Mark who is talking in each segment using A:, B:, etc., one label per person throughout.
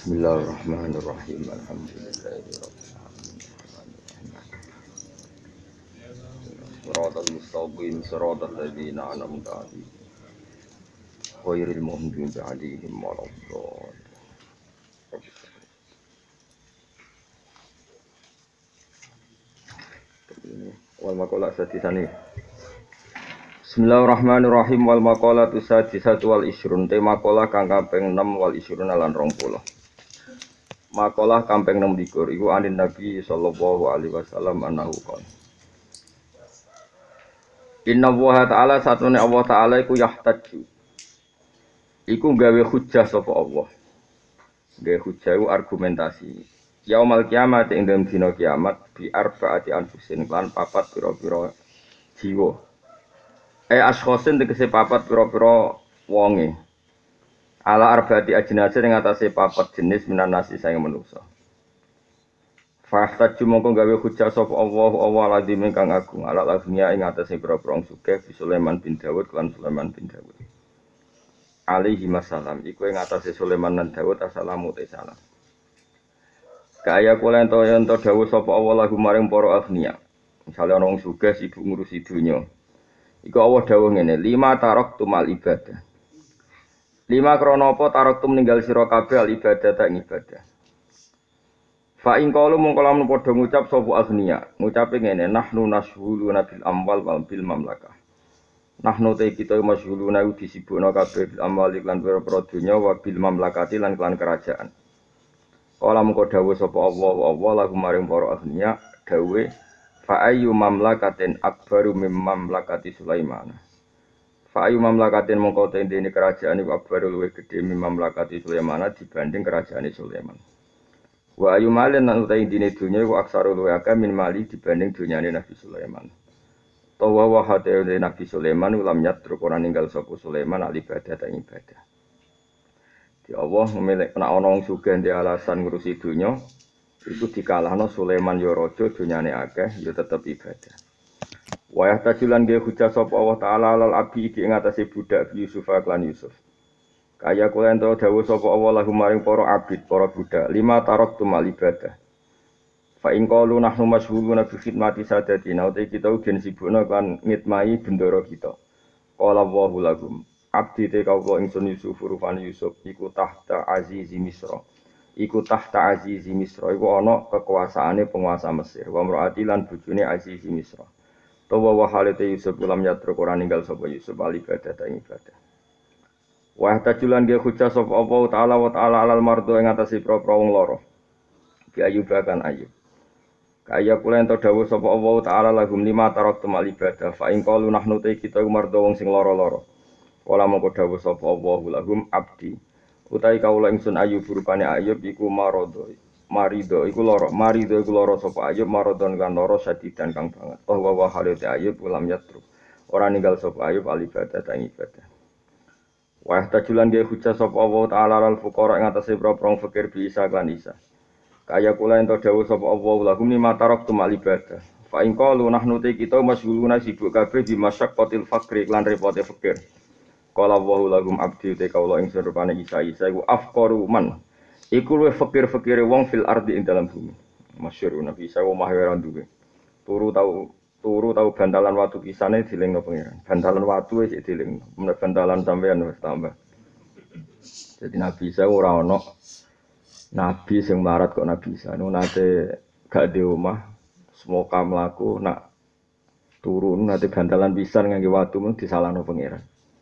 A: Bismillahirrahmanirrahim. Alhamdulillahirabbil alamin. Shiratal mustaqim shiratal ladzina an'amta 'alaihim ghairil maghdubi 'alaihim waladdallin. Wal maqalah sadisani. Bismillahirrahmanirrahim. Wal maqalatu sadisatu wal isrun. Tema maqalah kang kaping 6 wal isrun lan 20. Maqalah kaping 26 iku anin Nabi sallallahu alaihi wasallam annahu qala. Inna Allah ta'ala satune Allah ta'ala iku yahtaju. Iku gawe hujjah sapa Allah. Gawe hujjah iku argumentasi. Yaumal kiamat ing dalem dina kiamat bi arbaati anfusin lan papat pira-pira jiwa. Askhosin tegese papat pira-pira wonge. Ala arbaati ajnasin ing atase papat jenis minan nasi saing manusa. Fahtaju mongko gawe hujjah sapa Allah lazim kang agung ala lazimnya ing atase pira-pira sugih bi Sulaiman bin Daud lan Sulaiman bin Daud. Alaihi wasallam iku ing atase Sulaiman lan Daud assalamu salam. Kaya kula ento dawuh sapa Allah lagu maring para agniya. Misale ana wong sugih sibuk ngurusi donya. Iku Allah dawuh ngene, 5 taraktu mal ibadah. 5 krana apa taraktu ninggal sira kabeh al ibadah ta ibadah. Fa in qalu mongko lamun padha ngucap sapa agniya, ngucape ngene, nahnu nashghuluna bil amwal wal bil mamlakah. Nahnu te kita masyghuluna disibukna kabeh bil amwal lan pira-pira donya wa bil mamlakati lan klan kerajaan. Kala mengko dawuh sapa Allah lagu maring para agniya dawuh fa ayyu mamlakatin akbaru mim mamlakati Sulaiman. Fa ayyu mamlakatin mengko te dene kerajaan iku akbaru luwih gedhe mim mamlakati Sulaiman dibanding kerajaane Sulaiman. Wa ayyu malin lan utahe dene dunya iku aksaru luwih akeh min mali dibanding dunyane Nabi Sulaiman. Tawa wa hate Nabi Sulaiman ulam yatruk ora ninggal sapa Sulaiman al ibadah ta ibadah. Di Allah memilih nek ana wong sugih ndek alasan ngurusi donya itu dikalahno Sulaiman ya raja donyane akeh ya tetep ibadah. Wa yahtajulan ge hujjah sapa Allah taala alal abdi iki ing atase budak Yusuf lan Yusuf. Kaya kula ento dawuh sapa Allah lahum maring para abid para budak 5 taraktu mal ibadah. Fa in qalu nahnu masyghuluna bi khidmati sadatina uta kita ugen sibukna kan ngitmai bendara kita. Qala Allahu lahum abdi te kawula ingsun Yusuf rufani Yusuf iku tahta azizi Misra. Iku tahta azizi Misra iku ana kekuasaane penguasa Mesir. Wa mraati lan bojone azizi Misra. Tawa wa halate Yusuf ulam yatruk ora ninggal sapa Yusuf al ibadah ta ibadah. Wa tajulan ge hujjah sapa Allah taala wa taala alal mardo ing atase pra-pra wong lara. Bi Ayub kan Ayub. Kaya kula ento dawuh sapa Allah taala lahum 5 taraktu mal ibadah fa in qalu nahnu ta kita mardo wong sing lara-lara. Kala mongko dawuh sapa Allahu lahum abdi utawi kawula ingsun Ayub rupane Ayub iku marido iku lara sapa Ayub maradon kan lara sadidan kang banget wa halate Ayub ulam yatruk ora ninggal sapa Ayub al ibadah ta ibadah wa tajulan ge hujjah sapa Allah taala al fuqara ing atase pro-pro fakir bisa kan isa kaya kula ento dawuh sapa Allah lahum ni matarak tu mal ibadah fa in qalu nahnu te kita masyghuluna sibuk kabeh bi masyaqqatil faqri lan repote fakir. Qala Allahu lahum abdi te kaula ing rupane Isa iku afqaru man. Iku luwih fakir-fakire wong fil ardi ing dalam bumi. Masyhur Nabi Isa omah ora duwe. Turu tau bantalan watu kisane dilingno pangeran. Bantalan watu wis dilingno. Menawa bantalan sampean wis tambah. Jadi Nabi Isa ora ana nabi sing mlarat kok Nabi Isa. Nate gak di omah semoga mlaku nak turun nate bantalan pisan ngangge watu mung disalahno pangeran.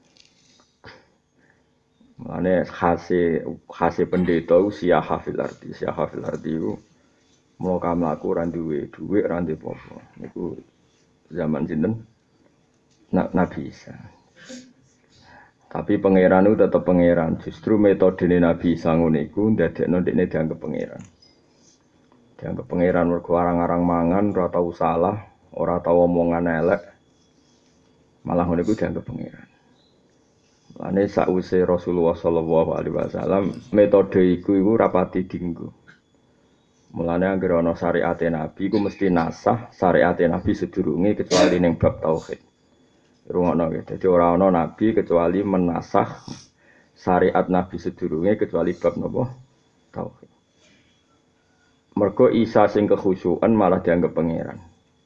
A: Mane khase pendeta usia hafil arti itu mula kamlaku ora duwe dhuwit ora ndek apa. Niku zaman sinten Nabi Isa. Tapi pangeran itu tetap pangeran. Justru metodene Nabi Isa ngono iku ndadekno dekne dianggep pangeran. Dianggep pangeran mergo arang-arang mangan ora tau salah, ora tau omongan elek. Malah ngono iku dianggep pangeran. Lane sakwise Rasulullah sallallahu alaihi wasallam metode iku rapati dienggo. Mulane anggere ana syariate Nabi iku mesti nasah syariate Nabi sedurunge kecuali ning bab tauhid. Rungono nggih. Dadi ora ana nabi kecuali menasah syariat Nabi sedurunge kecuali bab napa? tauhid. Mergo Isa sing kekhusyukan malah dianggap pangeran.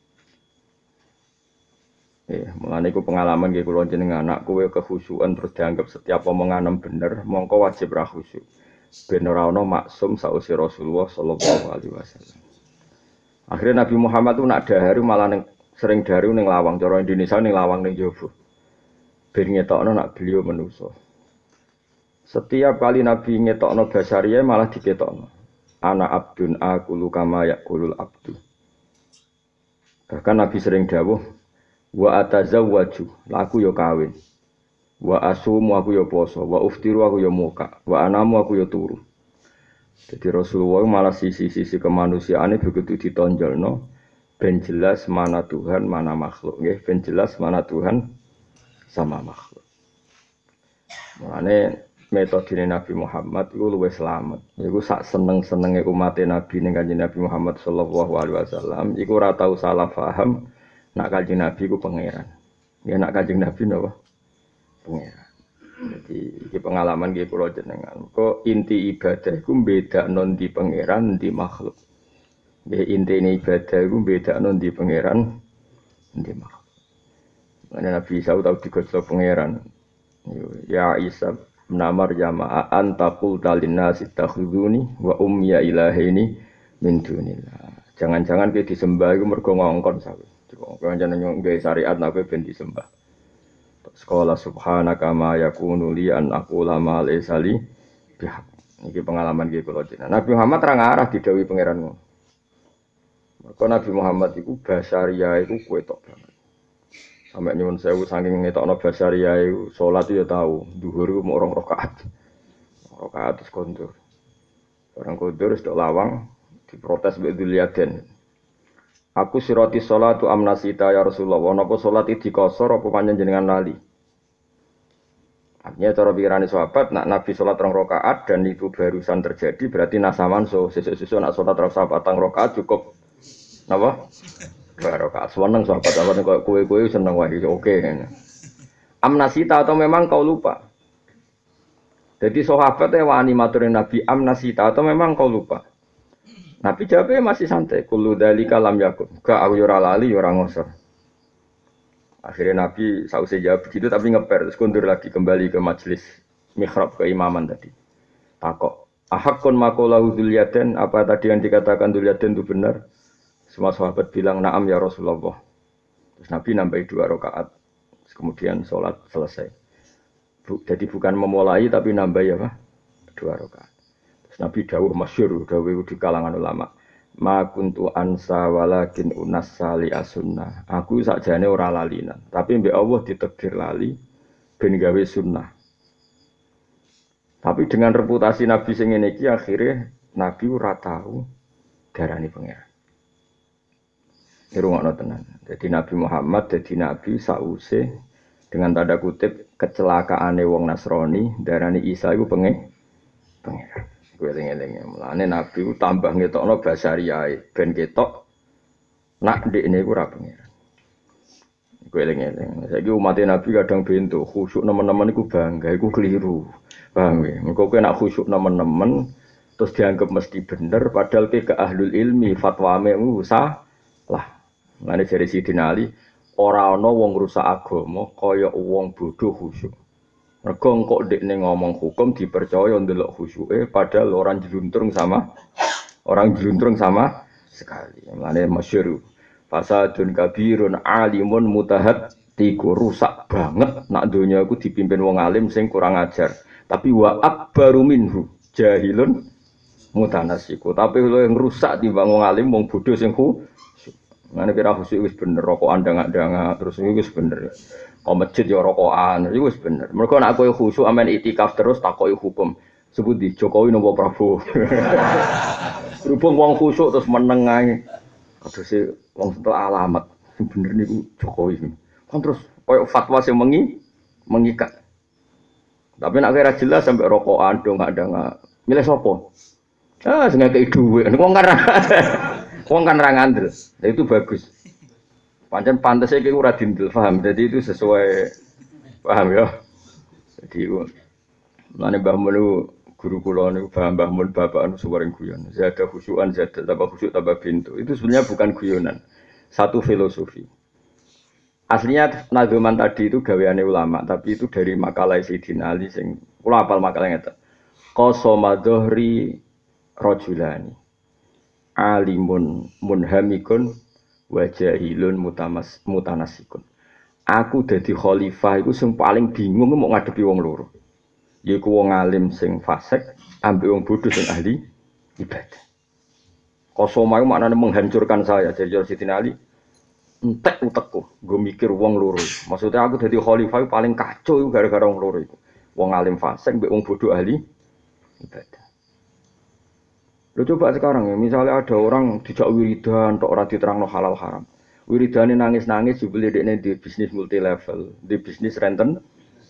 A: Mulane iku pengalaman nggih kula jenengan anak kowe kekhusyukan terus dianggap setiap omongan bener, mongko wajib ra khusyuk. Ben ora ana maksum sausi Rasulullah sallallahu alaihi wasallam. Akhirnya Nabi Muhammad tuh nak dahar malah sering daharu ning lawang, cara Indonesia ning lawang ning jaba. Ben ngetokno nak beliau manusa. Setiap kali Nabi ngetokno basariyah malah diketokno. Ana abdun aqulu kama yaqulul abdu. Bahkan Nabi sering dawuh, wa atazawwaju, aku yo kawin. Wa asumu aku yo poso, wa uftiru aku yo muka, wa anamu aku yo turu. Jadi Rasulullah malah sisi-sisi kemanusiaane begitu ditonjolno ben jelas mana Tuhan, mana makhluk nggih, ben jelas mana Tuhan sama makhluk. Mulane metode Nabi Muhammad itu luwih selamat. Iku sak seneng-senenge umat Nabi ning Kanjeng Nabi Muhammad sallallahu alaihi wasallam iku ora tau salah paham nak Kanjeng Nabi ku pangeran. Ya nak Kanjeng Nabi napa? Pangeran. Jadi iki pengalaman nggih kula jenengan. Kok inti ibadah iku bedakno ndi pangeran ndi makhluk. Nggih intine ibadah iku bedakno ndi pangeran ndi makhluk. Ana Nabi Isa tau digosok pangeran. Ya Isa namar jama'a antaqul talinnas ittakhuduni wa ummiya ilahaini min dunillah. Jangan-jangan kowe disembah iku mergo ngongkon sawe. Coba jangan nggawe syariat nek ben disembah. Sekolah subhanaka ma yakunu li an aqula ma laysa li bihaq. Iki pengalaman iki kula jenengan. Nabi Muhammad ra ngarah didhawuhi pangeran ngono. Mergo Nabi Muhammad iku basariyah iku kowe tok banget. Sampai nyuwun sewu saking ngetokno basariyah iku salat ya tau, zuhur iku mung 2 rakaat. Rakaat terus kondur. Orang kondur wis tok lawang diprotes mbek Dzulyaden. Aku sirati sholatu amnasita ya Rasulullah. Napa salat iki dikosor apa panjenengan lali? Artinya cara pikirane sahabat, nak Nabi sholat 2 rakaat dan itu barusan terjadi, berarti nasaman sesuk-sesuk nak sholat 4 rakaat cukup napa? 2 rakaat. Seneng sahabat kok kowe seneng wae oke. Amnasita atau memang kau lupa? Jadi sahabat wani maturin Nabi amnasita atau memang kau lupa? Nabi jawabnya masih santai. Kullu dzalika lam yakun. Gak aku ora lali ora ngosor. Akhirnya Nabi sausé jawab begitu tapi ngeper terus kundur lagi kembali ke majelis mihrab keimaman tadi. Takok, "Ahaqqun maqalahu Dzulyaden? Apa tadi yang dikatakan Dzulyaden itu benar?" Semua sahabat bilang, "Na'am ya Rasulullah." Terus Nabi nambahi 2 rakaat. Kemudian sholat selesai. Jadi bukan memulai tapi nambahi apa? 2 rakaat. Nabi dawuh masyhur dawuh di kalangan ulama. Ma kuntu ansa walakin unassa li as-sunnah. Aku sakjane ora lalinan, tapi mbek Allah ditakdir lali ben gawe sunnah. Tapi dengan reputasi Nabi sing ngene iki akhire Nabi ora tau darani pangeran. Irungokno tenan. Jadi Nabi Muhammad dadi nabi sause dengan tanda kutip kecelakaane wong Nasrani darani Isa iku pangeran. Kowe eling-eling. Mulane Nabi ku tambah ngetokno basariyae ben ketok nak ndekne iku ora pangeran. Kowe eling-eling. Saiki umat Nabi kadang bento khusyuk nemen-nemen iku bangga, iku keliru. Paham ya? Engko kowe nak khusyuk nemen-nemen terus dianggap mesti bener padahal ke ahlul ilmi fatwame salah. Mulane jare Sidina Ali ora ana wong rusak agama kaya wong bodho khusyuk. Mergo kok ndekne ngomong hukum dipercaya ndelok khusyuke padahal orang jeluntrung sama sekali. Mulane masyhur fasadun kabirun alimun mutahaddiqu rusak banget nak donya iku dipimpin wong alim sing kurang ajar. Tapi wa akbaru minhu jahilun mutanasiku. Tapi lho yang rusak timbang wong alim wong bodho sing Mane kira khusyuk wis bener rokokan ndangak-ndangak terus iku wis bener. Kok masjid ya rokokan iku wis bener. Mergo nek kowe khusyuk amen itikaf terus takoki hukum. Sebut di Jokowi nopo Prabowo. Berhubung wong khusyuk terus meneng ae. Kadose wong entuk alamat sing bener niku Jokowi. Kan terus koyo fatwa sing mengikat. Tapi nek ora jelas sampai rokokan ndangak-ndangak. Milih sapa? Sing ngekeki dhuwit. Wong kan ra ngandel. Itu bagus. Pancen pantese iki ora dindel, paham. Jadi itu sesuai paham ya. Jadi mulane Mbah Mun Guru kula niku Mbah Mun bapak anu suwering guyon. Zada khusyuan zada tambah khusyuk tambah bintu. Itu sebenarnya bukan guyonan. Satu filosofi. Aslinya nazuman tadi itu gaweane ulama, tapi itu dari makalah Sayyidina Ali sing kula hafal makalah ngeten. Qasama dhuhri rajulani. Alimun munhamikun wa jahilun mutanasikun. Aku dadi khalifah iku sing paling bingung mau ngadepi wong loro. Yaiku wong alim sing fasik ambek wong bodoh sing ahli ibadah. Qasama iku maknane menghancurkan saya dari Sayyidina Ali. Entek utekku, gue mikir wong loro. Maksudnya aku jadi khalifah paling kacau gara-gara wong loro itu. Wong alim fasik, mbek wong bodoh ahli ibadah. Lo coba sekarang ya, misalnya ada orang dijak wiridan, tok ora diterangno halal haram. Wiridane nangis-nangis jebule dekne di bisnis multi level, di bisnis renten.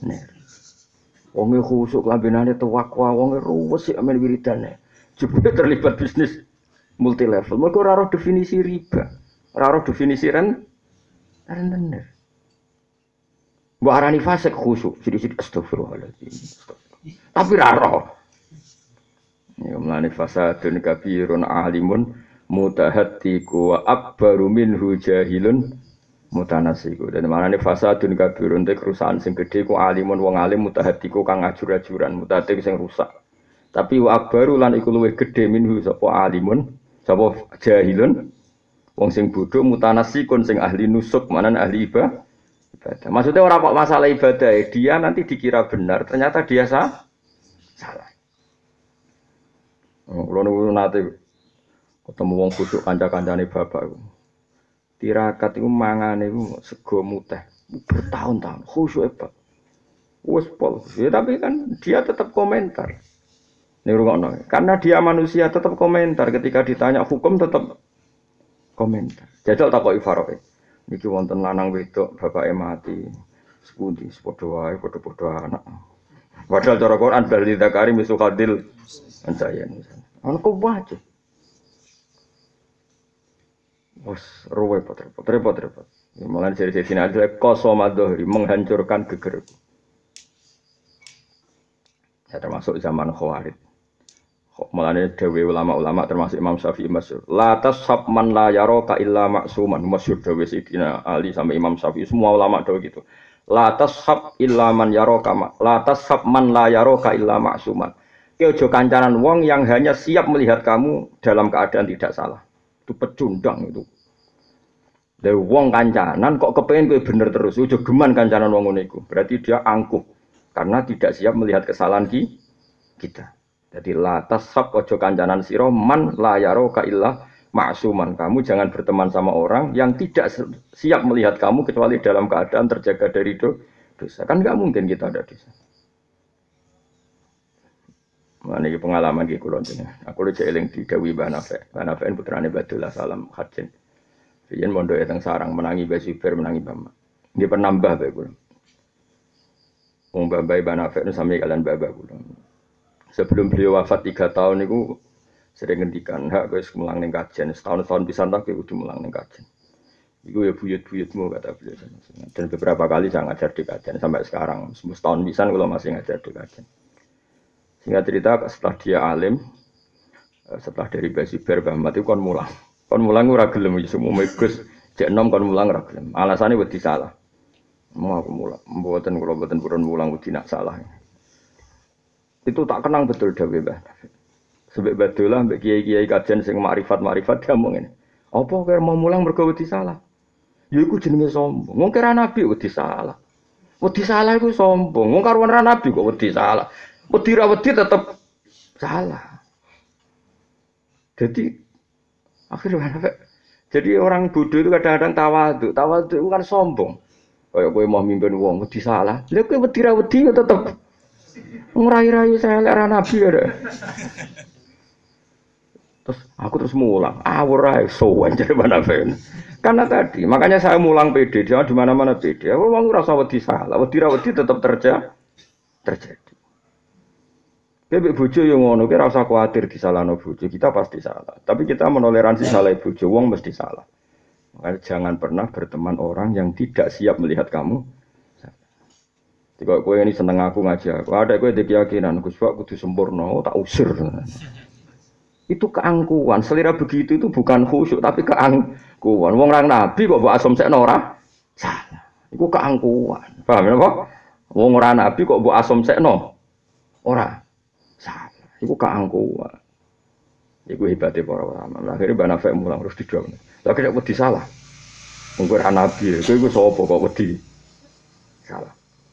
A: Wonge khusuk lambenane tawakwa, wonge ruwes sik amen wiridane. Jebule terlibat bisnis multi level. Mergo ora ora definisi riba. Raro definisi rentenir. Mbok arani fasik khusyuk, sithik-sithik astagfirullahaladzim. Tapi raro. Ya mlane fasadun kabirun alimun mutahaddiqu wa akbaru minhu jahilun mutanasiku. Dan manane fasadun kabirun te kerusakan sing gedhe ku alimun wong alim mutahaddiqu kang ajur-ajuran, mutahaddiq sing rusak. Tapi wa akbaru lan iku luwih gedhe minhu sapa alimun, sapa jahilun wong sing bodoh mutanasikun sing ahli nusuk manan ahli ibadah. Maksudnya orang kok masalah ibadah dia nanti dikira benar ternyata dia salah. Kulo niku nate ketemu wong bodoh kanca-kancane bapak iku. Tirakat iku mangane iku sego muteh bertahun-tahun khusyuk Pak. Wes pol. Ya tapi kan dia tetap komentar. Ning rungokno. Karena dia manusia tetap komentar ketika ditanya hukum tetap komentar. Jajal takoki Faroe. Niki wonten lanang wedok bapake mati. Sepundi padha wae padha-padha anak. Padahal cara Quran bali zakari misu khadil ansayan. Ana kok wae. Wes repot. Mulane dari sini ada kosomadohri menghancurkan geger. Ya termasuk zaman Khawarij. Mulane dewe ulama-ulama termasuk Imam Syafi'i masyhur. La tashab man la yaraka illa ma'suman. Masyhur dewe Sayyidina Ali sampai Imam Syafi'i semua ulama dewe gitu. La tashab illa man yaraka la tashab man la yaraka illa ma'suman. Ki aja kancanan wong yang hanya siap melihat kamu dalam keadaan tidak salah. Itu pecundang itu. Dewe wong kancanan kok kepengin kowe bener terus. Aja geman kancanan wong ngene iku. Berarti dia angkuh karena tidak siap melihat kesalahan kita. Jadi la tashab ojo kancanan sira man la yaraka illa ma'suman. Kamu jangan berteman sama orang yang tidak siap melihat kamu kecuali dalam keadaan terjaga dari dosa. Kan enggak mungkin kita ada dosa. Mana iki pengalaman iki kula jenengan. Aku lho cek eling didhawuhi Mbah Nafek. Mbah Nafek putrane Badullah Salam Khadjen. Riyen mondoke teng sarang menangi Mbah Zubair menangi Mbah. Nggih pernah Mbah bae kula. Wong Mbah Nafek nu sami kalian Mbah kula. Sebelum beliau wafat 3 tahun itu sering ngendikan hak wis mulang ning kajen setahun pisan tak kudu mulang ning kajen. Iku ya buyut-buyutmu kata beliau. Dan beberapa kali saya ngajar di kajen sampai sekarang setahun pisan kalau masih ngajar di kajen. Singkat cerita setelah dia alim setelah dari Basiber Bahmat itu kon mulang. Kon mulang ora gelem semua Gus cek enom kon mulang ora gelem. Alasane wedi salah. Mau aku mulang, mboten kula mboten purun mulang wedi nak salah. Itu tak kenang betul dawuh Mbah. Sebab Badullah mbek kiai-kiai kajian sing makrifat dia ngomong ngene. Apa kowe mau mulang mergo wedi salah? Ya iku jenenge sombong. Wong kira nabi wedi salah. Wedi salah iku sombong. Wong karuan ra nabi kok wedi salah. Wedi ra wedi tetep salah. Jadi akhirnya jadi orang bodoh itu kadang-kadang tawadhu. Tawadhu itu kan sombong. Kayak kowe mau mimpin wong wedi salah. Lha kowe wedi ra wedi tetep ngurai-rai saya lera nabi ya. Terus aku terus mulang, awurai sowan jadi mana fen. Karena tadi, makanya saya mulang PD, jangan di mana-mana PD. Aku mau ngerasa wedi salah, wedi tetap terjadi. Bebek bojo yang ngono, kita rasa khawatir disalahno bojo, kita pasti salah. Tapi kita menoleransi salah bojo, wong mesti salah. Makanya jangan pernah berteman orang yang tidak siap melihat kamu. Jika kowe ini seneng aku ngaji aku, ada kowe keyakinan Gus Pak kudu sempurna, oh, tak usir. Itu keangkuhan. Selera begitu itu bukan khusyuk tapi keangkuhan. Wong orang nabi kok mbok asumsekno ora salah. Iku keangkuhan. Paham ya, Pak? Wong ora nabi kok mbok asumsekno ora salah. Iku keangkuhan. Iku hebatnya para ulama. Akhirnya Mbak Nafek mulang terus dijawab. Lagi nek wedi salah. Wong ora nabi, kowe iku sapa kok wedi salah.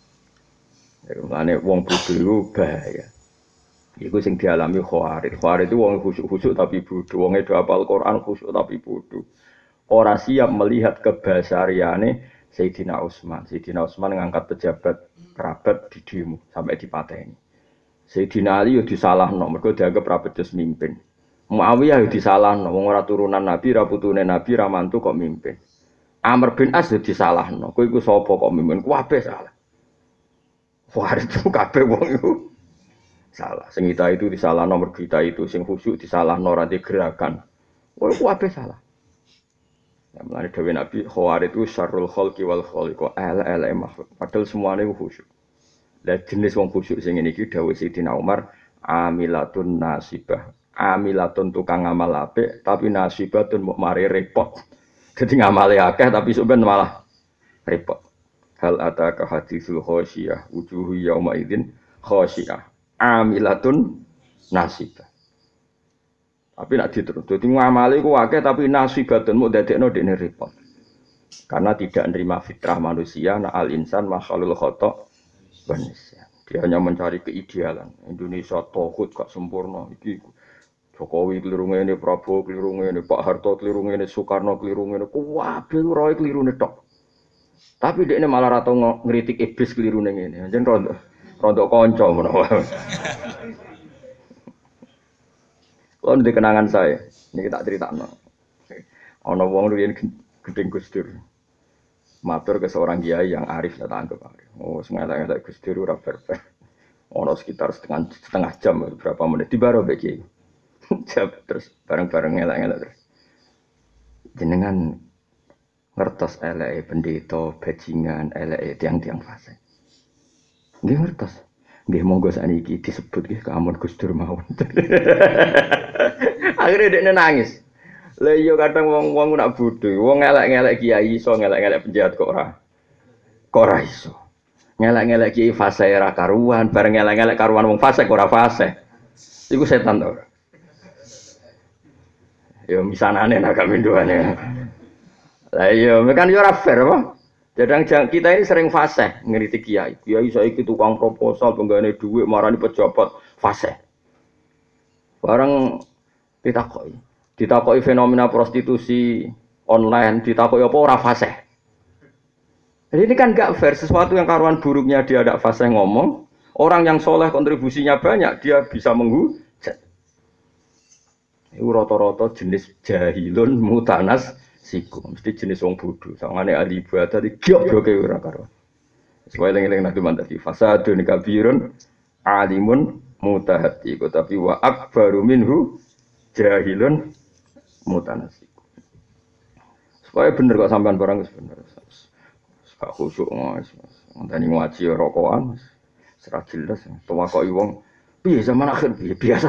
A: Ya mulane wong bodho iku bahaya. Iku sing dialami Khawarij. Khawarij itu wong khusyuk-khusyuk tapi bodoh. Wong do hafal Quran khusyuk tapi bodoh. Ora siap melihat kebasariane Sayyidina Utsman. Sayyidina Utsman ngangkat pejabat kerabat di demo sampai dipateni. Sayyidina Ali yo disalahno mergo dianggap ra becus mimpin. Muawiyah yo disalahno wong ora turunan Nabi, ra putune Nabi, ra mantu kok mimpin. Amr bin As yo disalahno. Kowe iku sapa kok mimpin? Kabeh salah. Khawarij itu kabeh wong iku salah. Sing kita itu disalahno nomor kita itu sing khusyuk disalahno ora gerakan. Wah, kabeh salah. Ya mulane dawuh Nabi Khawarij itu syarrul khalqi wal khaliq ala makhluk. Padahal semuanya khusyuk. Lah jenis wong khusyuk sing ngene iki dawuh Sayyidina Umar amilatun nasibah. Amilatun tukang ngamal apik tapi nasibatun mok mari repot. Dadi ngamale akeh tapi sampeyan malah repot. Hal ataka haditsul khasyiyah wujuhu yauma idzin khasyiyah amilatun nasibah. Tapi nak diterus. Dadi ngamale ku akeh tapi nasibatun mok dadekno dekne repot. Karena tidak menerima fitrah manusia, na al insan makhlul khata' wa nisyan. Dia hanya mencari keidealan. Indonesia tauhid gak sempurna iki. Jokowi keliru ngene, Prabowo keliru ngene, Pak Harto keliru ngene, Soekarno keliru ngene. Kabeh roe kelirune tok. Tapi dekne malah ra tau ngritik iblis kelirune ngene. Jan rondo kanca menawa. Kalau di kenangan saya, ini tak ceritakan. Ana wong riyen gedeng Gus Dur. Matur ke seorang kiai yang arif tak anggap arif. Oh, sengaja Gus Dur ora fair. Ana sekitar setengah jam berapa menit di baro mbek kiai. Terus bareng-bareng ngelak-ngelak terus. Jenengan ngertos eleke pendeta bajingan eleke tiang-tiang fase. Nggih ngertos. Nggih monggo sakniki disebut nggih keamun Gus Dur mawon. Akhirnya dekne nangis. Lah iya kadang wong nak bodho, wong ngelak-ngelak kiai iso ngelak-ngelak penjahat kok ora. Kok ora iso. Ngelak-ngelak kiai fase ora karuan, bareng ngelak-ngelak karuan wong fase kok ora fase. Iku setan to. Ya misanane nak kaminduane. Lah iya, kan yo ora fair apa? Jadang kita ini sering fase ngritik kiai. Kiai saiki tukang proposal penggane dhuwit marani pejabat fase. Bareng ditakoki fenomena prostitusi online, ditakoki apa ora fase. Jadi ini kan enggak fair, sesuatu yang karuan buruknya dia ada fase ngomong, orang yang soleh kontribusinya banyak dia bisa menghujat. Itu rata-rata jenis jahilun mutanas siku, mesti jenis wong bodoh. Sangane ahli ibadah digobloke ora karuan. Supaya eling-eling nanti mantap di fasadun kabirun alimun mutahati, tapi wa akbaru minhu jahilun mutanasik. Supaya bener kok sampean barang wis bener. Sak khusyuk Mas. Ngonteni ngaji rokokan ora jelas. Tawakoki wong piye zaman akhir piye biasa.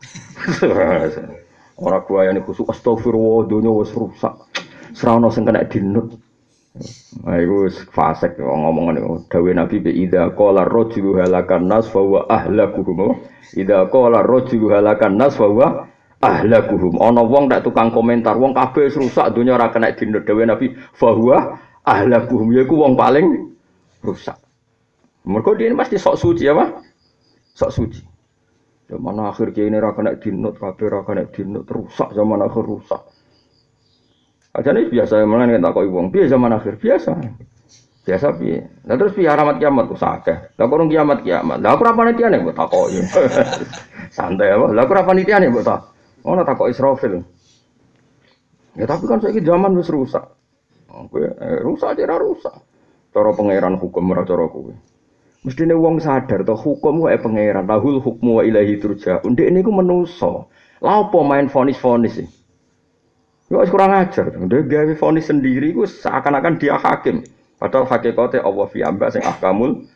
A: Ora guayane khusyuk astagfirullah donya wis rusak. Serana sing kena dinut. Nah, iku wis fasik ngomongan iku. Dawuh Nabi bi idza qala rajulu halakan nas fa huwa ahlakuhum. Idza qala rajulu halakan nas fa huwa ahlakuhum. Ana wong tak tukang komentar, wong kabeh wis rusak donya ora kena dinut. Dawuh Nabi fa huwa ahlakuhum yaiku wong paling rusak. Mergo dia pasti sok suci apa? Sok suci. Zaman akhir kene ora kena dinut, kabeh ora kena dinut, rusak zaman akhir rusak. Ajane biasa mengan tak kok wong piye zaman akhir biasa. Biasa piye. Lah terus piye alamat kiamat ku sakeh. Lah kok kiamat. Lah aku ora panitiane mbok takoki. Santai apa? Lah aku ora panitiane mbok tak. Ono takoki Israfil. Ya tapi kan saiki zaman wis rusak. Kowe rusak aja rusak. Cara pangeran hukum ora cara kowe. Mestine wong sadar to hukum wae pangeran. Lahul hukmu wa ilahi turja'un. Ndek niku menungso. Lah apa main vonis-vonis iki? Yo kurang ajar. Dia gawe vonis sendiri ku seakan-akan dia hakim. Padahal hakikate Allah fi amba sing ahkamul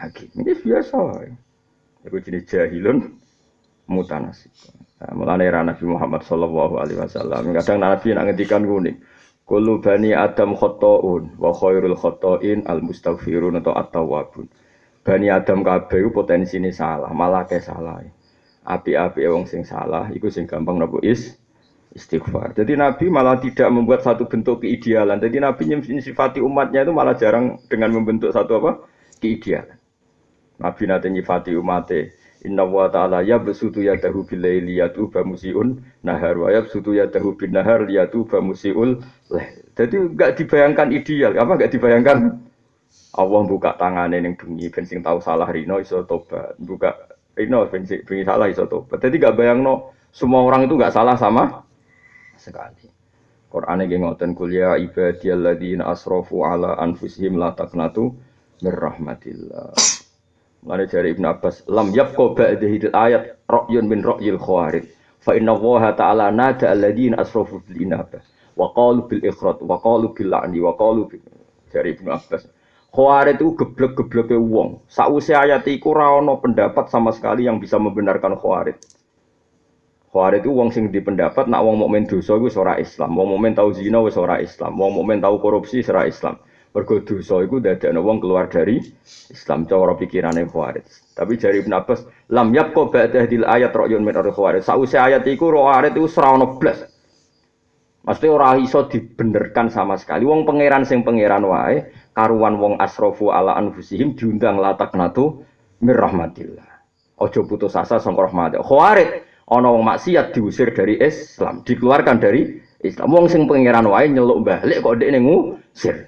A: hakim. Ini biasa. Iku jenis jahilun mutanasib. Nah, mulane era Nabi Muhammad sallallahu alaihi wasallam kadang Nabi nak ngendikan ngene. Kullu bani Adam khata'un wa khairul khata'in al mustaghfirun atau at-tawwabun. Bani Adam kabeh potensine salah, malah ke salah. Api-api wong sing salah iku sing gampang napa istighfar. Jadi Nabi malah tidak membuat satu bentuk keidealan. Jadi Nabi nyifati umatnya itu malah jarang dengan membentuk satu apa? Keidealan. Nabi nanti nyifati umatnya. Inna wa ta'ala yabsutu yadahu bilaili yatuba musiun nahar wa yabsutu yadahu bin nahar yatuba musiul leh. Jadi enggak dibayangkan ideal. Apa enggak dibayangkan? Allah buka tangannya ning bengi ben sing tahu salah rino iso tobat. Buka rino ben sing salah iso tobat. Jadi enggak bayangno semua orang itu enggak salah sama sekali. Qur'ane nggih ngoten kuliah ibadiyalladzina asrafu ala anfusihim la taqnatu mir rahmatillah. Mane jari Ibnu Abbas lam yabqa ba'dahil ayat ra'yun min ra'yil khawarij fa inna Allah ta'ala nada alladzina asrafu bil inabah wa qalu bil ikhrat wa qalu bil la'ni wa qalu jari Ibnu Abbas khawarij itu geblek-gebleke wong sakwise ayat iku ora ana pendapat sama sekali yang bisa membenarkan khawarij. Khawarij itu wong sing dipendapat nak wong mukmin dosa iku wis ora Islam, wong mukmin tau zina wis ora Islam, wong mukmin tau korupsi wis ora Islam. Mergo dosa iku dadekno wong keluar dari Islam cara pikirane Khawarij. Tapi jari Ibnu Abbas, lam yabqa ba'dahil ayat ra'yun min al-Khawarij. Sause ayat iku Khawarij iku ora ono blas. Mesti ora iso dibenerkan sama sekali. Wong pangeran sing pangeran wae karuan wong asrafu ala anfusihim diundang lataknatu mir rahmatillah. Aja putus asa sangka rahmat. Khawarij ana wong maksiat diusir dari Islam, dikeluarkan dari Islam. Wong sing pangeran wae nyeluk balik kok ndekne ngusir.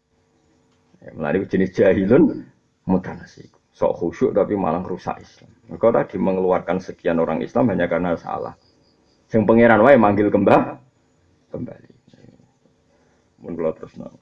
A: Melalui jenis jahilun mutanasib. Sok khusyuk tapi malah rusak Islam. Mereka tadi mengeluarkan sekian orang Islam hanya karena salah. Yang pangeran wae manggil kembali. Mun kula terusno.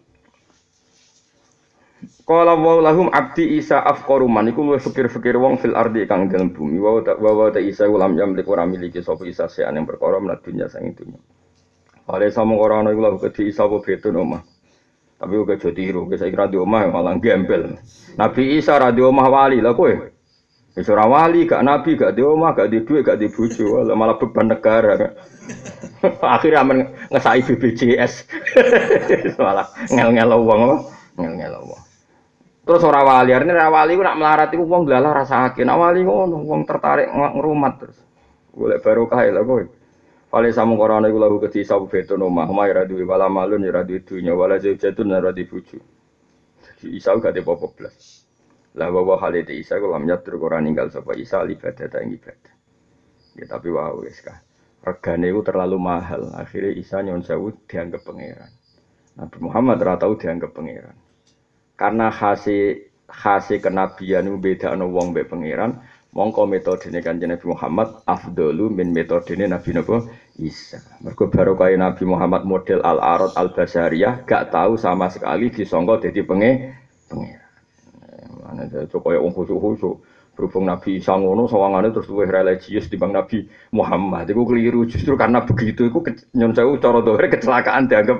A: Qala wa lahum abdi Isa afqaru man iku luwih fikir-fikir wong fil ardi kang dalem bumi. Wa ta Isa ulam yamlik ora miliki sapa Isa sean yang perkara menat dunya sang dunya. Fale sama ora ana iku lha kedhi Isa apa betun omah. Tapi uga aja tiru, saya kira di omah malah gembel. Nabi Isa ra di omah wali lah kowe. Wis ora wali, gak nabi, gak di omah, gak di duit, gak di bojo, malah beban negara. Akhirnya amen ngesai BPJS. Malah ngel-ngel wong apa? Ngel-ngel wong. Terus ora wali, arene ra wali ku nak melarat iku wong glalah rasake. Nak wali ngono, wong tertarik ngrumat terus. Golek barokah lha kowe. Fale samu korone iku lagu kedhi sabu beton omah ora duwe wala malun ora duwe dunya wala jatun ora duwe bojo. Jadi Isa gak ada apa-apa blas. Lah wae halite Isa kok lam nyatur ora ninggal sapa Isa ibadah ta ibadah. Ya tapi wae wis ka. Regane iku terlalu mahal. Akhirnya Isa nyon sewu dianggap pangeran. Nabi Muhammad ora tau dianggap pangeran. Karena khase kenabian bedakno wong mbek pangeran. Mongko metodene Kanjeng Nabi Muhammad afdalu min metodene Nabi Isa. Mergo barokah Nabi Muhammad model al-arad al-basariyah gak tahu sama sekali disangka dadi pangeran. Ana kaya wong khusuk-khusuk. Berhubung Nabi Isa ngono sawangane terus luwih religius timbang Nabi Muhammad. Iku keliru justru karena begitu iku nyon sewu cara dohre kecelakaan dianggap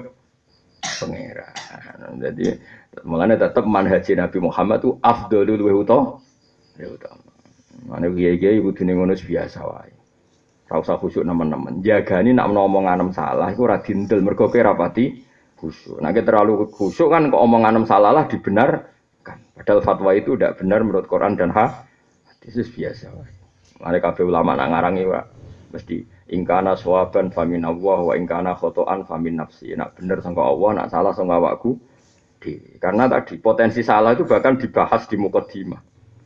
A: pangeran. Jadi mulane tetep manhaj Nabi Muhammad itu afdalu luwih utama. Mane kiai-kiai kudune ngono biasa wae. Ora usah khusyuk nemen-nemen. Jagani nak omongan salah iku ora dindel mergo kowe rapati khusyuk. Nek terlalu khusyuk kan kok omongan salah lah dibenarkan. Padahal fatwa itu tidak benar menurut Quran dan hadis biasa wae. Mane kabeh ulama nak ngarangi wae mesti ingkana sawaban famin Allah wa ingkana khotoan famin nafsi. Nak bener sangka Allah, nak salah sangka awakku dhewe. Karena tadi potensi salah itu bahkan dibahas di mukadimah.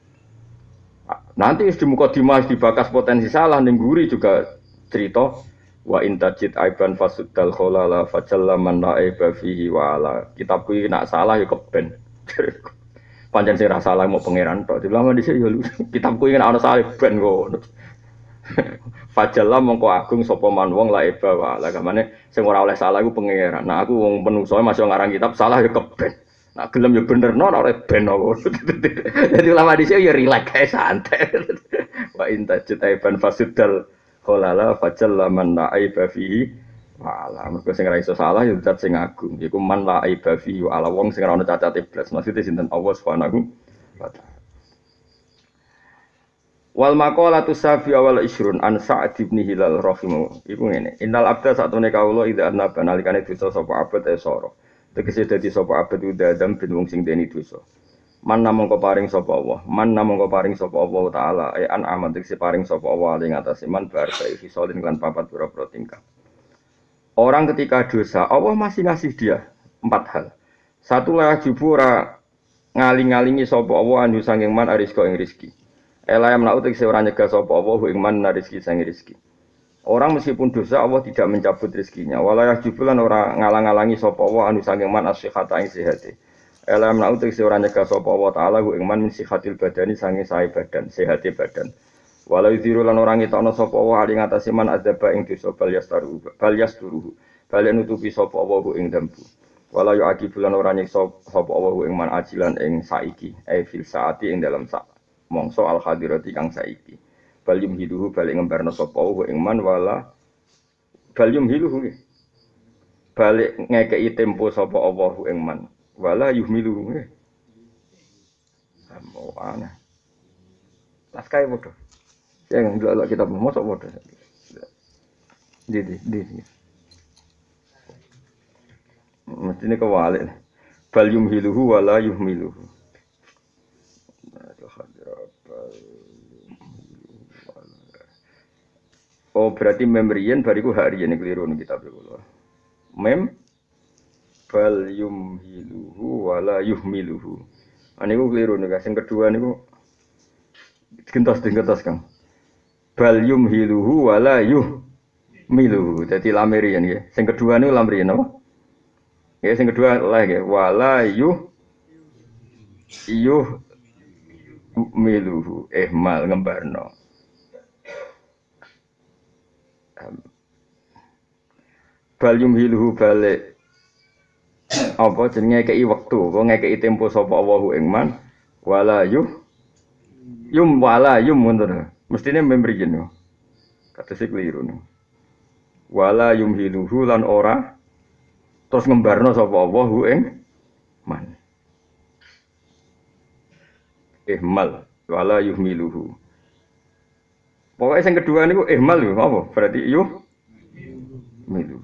A: Nanti di mukadimah dibahas potensi salah ning guri juga cerita wa intajid aiban fasuddal kholala fajalla man la aiba fihi wa ala. Kitabku iki nak salah ya keben. Pancen sing ra salah mau pangeran tok. Dilama dhisik ya kitabku iki nak ana salah ben ngono. Fajalla mongko agung sapa man wong la aiba wa ala. Kamane sing ora oleh salah iku pangeran. Nah aku wong menungso masih ngarang kitab salah ya keben. Nak gelem ya bener no ora ben kok. Jadi ulama dhisik ya rileks kae santai. Wa intajid aiban fasuddal kholala fajalla man la aiba fihi wala. Mergo sing ora iso salah ya zat sing agung. Iku man la aiba fihi wala wong sing ora ono cacat iblis. Maksude sinten Allah Subhanahu wa taala. Wal maqalatu safi awal isrun an Sa'd bin Hilal rahimahu. Iku ngene. Innal abda satune kawula idza annaba nalikane dosa sapa abad sora. Tegese dadi sapa abad udah adam bin wong sing deni dosa. Man namung paring sapa Allah. Man namung paring sapa Allah taala an amat tegese paring sapa Allah ing atase man bar bae fisolin lan papat pira-pira tingkah. Orang ketika dosa, Allah masih ngasih dia 4 hal. Satu lah jubura ngaling-ngalingi sapa Allah anu sanging man arizqa ing rezeki. Elayam na'u tegese ora nyegah sapa Allah ing man rizki sang rezeki. Orang meskipun dosa Allah tidak mencabut rezekinya. Walayah jubulan ora ngalang-alangi sapa Allah anu sanging man as-sihhata ing sehate. Elayam na'u tegese ora nyegah sapa Allah taala ing man min sihatil badani sanging sae badan, sehate badan. Walau ziru lan orang ngetokno sapa Allah ali ngatasi man adzaba ing dosa bal yasturuhu. Bal nutupi sapa Allah ing dambu. Walau yu'aqibu lan ora nyiksa sapa Allah ing man ajilan ing saiki, fil saati ing dalam sak mongso al hadirati kang saiki. Bal yumhiluhu bal ngembarno sapa Allah ing man wala bal yumhiluhu. Balik ngekeki tempo sapa Allah ing man wala yuhmiluhu. Ambo ana. Las kae bodoh. Yang ndelok kitab mosok bodoh. Di. Mestine kewalik. Bal yumhiluhu wala yuhmiluhu. Oh berarti memriyen bariku harian keliru ning kitab kula. Mem bal yumhiluhu wala yuhmiluhu. Aniku keliru nih, sing kedua niku gentos Kang. Bal yumhiluhu wala yuhmiluhu. Dadi lamirian nggih. Sing kedua niku lamirian apa? Ya sing kedua lah nggih, wala yuhmiluhu ihmal ngembarno. Bal yumhiluhu balik apa jenenge ngekeki wektu, kok ngekeki tempo sapa Allahu ing man wala wala ngono. Mestine membriyen yo. Katese kliru no. Wala yumhiluhu lan ora terus ngembarno sapa Allahu ing man. Ihmal wala yuhmiluhu. Pokoknya yang kedua niku ihmal lho, apa? Berarti milu.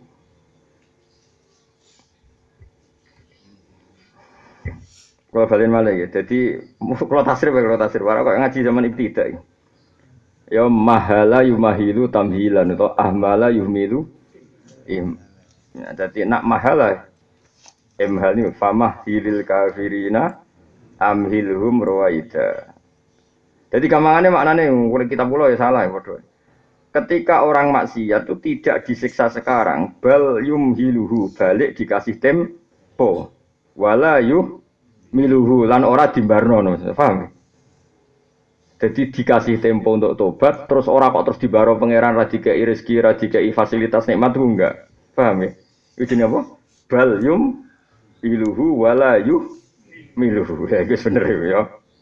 A: Kalau balen malah ya, jadi kalau tasrif para kok ngaji zaman ibtidak. Ya mahala yumahilu tamhilan atau ahmala yuhmilu im. Ya, jadi nak mahala imhal ni famah hilil kafirina amhilhum rawaida. Jadi gampangane maknane kulit kitab kula ya salah ya padha. Ketika orang maksiat itu tidak disiksa sekarang, bal yumhiluhu balik dikasih tempo. Wala yuhmiluhu lan ora dimbarno, paham? Jadi dikasih tempo untuk tobat, terus ora kok terus dibaro pangeran ra dikei rezeki, ra dikei fasilitas nikmat itu enggak. Paham ya? Itu jenenge apa? Bal yumhiluhu wala yuhmiluhu. Ya itu bener ya.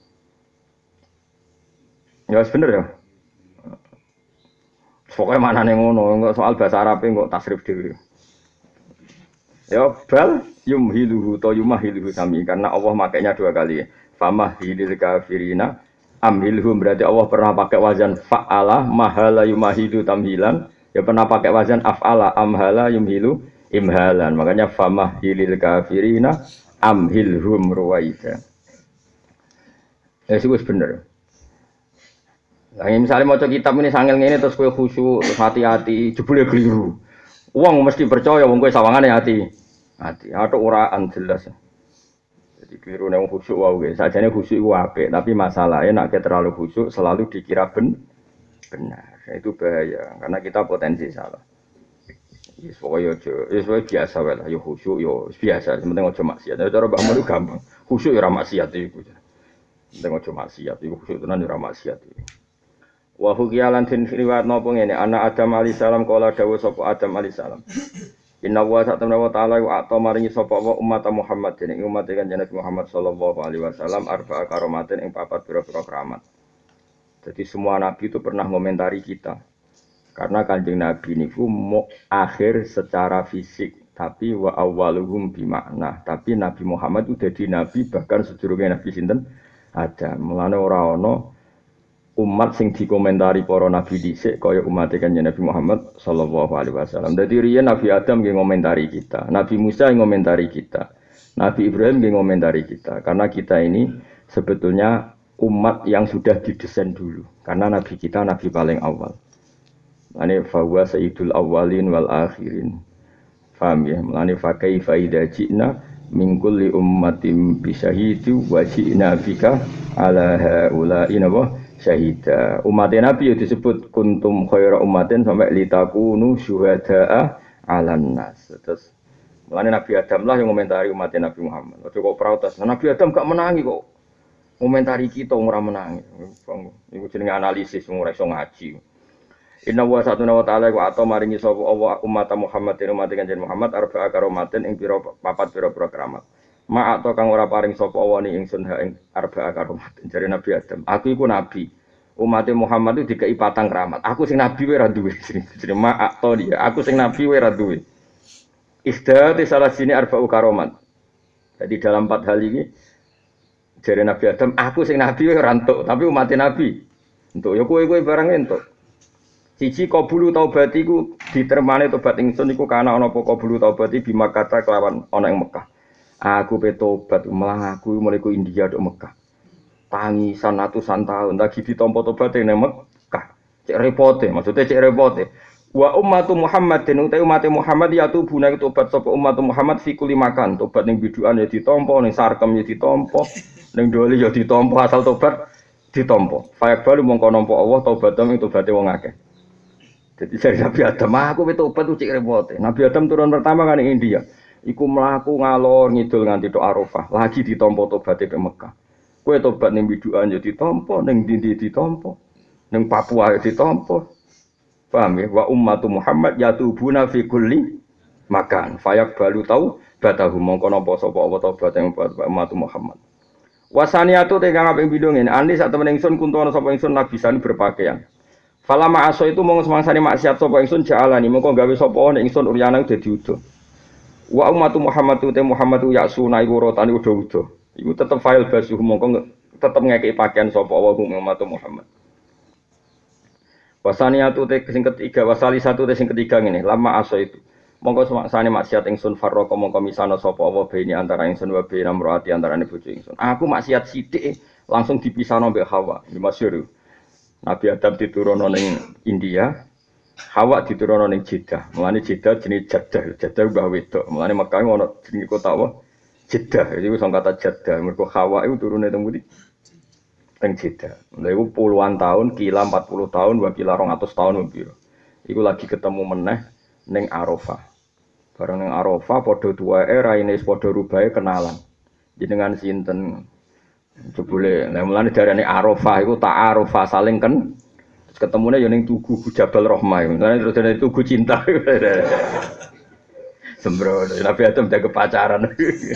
A: Ya bener ya. Pokoknya mana nih ngono, enggak soal bahasa Arab enggak tasrif dhewe. Ya bal yumhiluhu to yumahiluhu sami karena Allah makainya 2 kali. Famahilil kafirina amhilhum berarti Allah pernah pakai wazan fa'ala mahala yumahilu tamhilan, ya pernah pakai wazan af'ala amhala yumhilu imhalan. Makanya famahilil kafirina amhilhum ruwaida. Ya sih bener. Nah, misalnya mau kitab ini sangel ngene terus kowe khusyuk, terus hati-hati, jebule keliru. Wong mesti percaya wong kowe sawangane hati. Atau uraan jelas. Jadi keliru nek khusyuk wae. Sajane khusyuk iku apik, tapi masalahnya nek terlalu khusyuk selalu dikira benar. Itu bahaya karena kita potensi salah. Wis pokoke aja, wis biasa wae lah, yo khusyuk yo biasa, penting aja maksiat. Cara Mbak Mun gampang. Khusyuk yo ora maksiat iku. Penting aja maksiat, iku khusyuk tenan yo ora maksiat iku. Wa hukiyalan tin riwayat napa ngene ana Adam alaihi salam kala dawuh sapa Adam alaihi salam inna wa ta'ala wa ta maringi sapa wa umat Muhammad dening umat kanjeng Muhammad sallallahu alaihi wasallam arba'a karomatin ing 4 pira-pira keramat. Jadi semua nabi itu pernah ngomentari kita. Karena kanjeng Nabi niku mau akhir secara fisik tapi wa awwaluhum bimakna. Tapi Nabi Muhammad itu jadi nabi bahkan sedurunge Nabi sinten Adam. Mulane ora ana umat sing dikomentari para nabi dhisik kaya umat Kanjeng Nabi Muhammad sallallahu alaihi wasallam. Dadi riyen Nabi Adam nggih ngomentari kita, Nabi Musa ngomentari kita, Nabi Ibrahim nggih ngomentari kita. Karena kita ini sebetulnya umat yang sudah didesain dulu. Karena nabi kita nabi paling awal. Mane fawa sayyidul awwalin wal akhirin. Paham ya? Mane fa kaifa idza ji'na min kulli ummatin bi syahidin wa ji'na bika ala haula'i syahida. Umat Nabi disebut kuntum khaira ummatin sampai litakunu syuhada'a 'alan nas. Terus mane Nabi Adam lah yang komentari umat Nabi Muhammad. Ojo kok protes. Nabi Adam gak menangi kok. Komentari kita ora menangi. Iku jenenge analisis ora iso ngaji. Inna wa satuna wa ta'ala wa ato maringi sapa Allah umat Muhammad umat Kanjeng Muhammad arba'a karomatin ing papat pira keramat. Ma ato kang ora paring sapa Allah ni ingsun ha ing arba'a karomatin jare Nabi Adam. Aku iku nabi. Umat Muhammad itu dikei patang keramat. Aku sing nabi wae ora duwe. Jenenge ma ato dia. Aku sing nabi wae ora duwe. Isdati salah sini arba'u karomat. Jadi dalam 4 hal ini jare Nabi Adam, aku sing nabi wae ora entuk, tapi umat Nabi entuk. Ya kowe barang entuk. Siji qabulu taubat iku ditermane tobat ingsun iku kana ana apa qabulu taubati bima kata kelawan ana ing Mekah. Aku pe tobat malah aku mulai ku India dok Mekah. Tangisan atusan tahun lagi ditampa tobat ning Mekah. Cek repote, maksudnya cek repote. Wa ummatu Muhammadin utai umat Muhammad ya tubuna tobat sapa umat Muhammad fi kulli makan. Tobat ning bidukan ya ditampa, ning sarkem ya ditampa, ning doli ya ditampa asal tobat ditampa. Fa balu mongko nampa Allah taubatem ing tobaté wong akeh. Jadi dari Nabi Adam, aku tobat tuh cek repote. Nabi Adam turun pertama kan di India. Iku mlaku ngalor ngidul nganti tok Arafah. Lagi ditampa tobaté ke Mekah. Kowe tobat ning bidukan ya ditampa, ning ndi ditampa. Ning Papua ya ditampa. Paham ya? Wa ummatu Muhammad yatubuna fi kulli makan. Fayak balu tau batahu mongko napa sapa apa tobat ing umat Muhammad. Wasaniatu te kang aping bidung ngene, ani sak temen ingsun kuntono sapa ingsun nabisan berpakaian. Fala ma'aso itu mong semangsane maksiat sapa ingsun ja'alani mongko gawe sapa nek ingsun uryana dadi udo. Wa ummatu Muhammad te Muhammad ya'suna iku rotane udo-udo. Iku tetep file basuh mongko tetep ngekeki pakaian sapa wa ummatu Muhammad. Wasaniatu te sing ketiga wasali satu te sing ketiga ngene lama aso itu. Mongko semangsane maksiat ingsun farraqo mongko misana sapa wa bene antara ingsun wa bene amroati antarane bojo ingsun. Aku maksiat sithik langsung dipisahno mbek Hawa. Iki masyhur. Nabi Adam diturunno ning India, Hawa diturunno ning Jeddah. Mulane Jeddah jenenge Jeddah, Jeddah mbah wedok. Mulane Mekah ono jenenge kota apa? Jeddah. Iku sing kata Jeddah. Mergo Hawa iku turune teng pundi? Teng Jeddah. Lha iku puluhan tahun, kila 40 tahun, wa kila 200 tahun piro. Iku lagi ketemu meneh ning Arafah. Bareng ning Arafah padha tuwae raine padha rubahe kenalan. Jenengan sinten? Jebule, nah mulane darane Arafah iku ta'arufah saling kan ketemune ya ning Tugu Jabal Rahmah. Mulane terus dari Tugu Cinta. Sembrono, Nabi Adam jaga pacaran.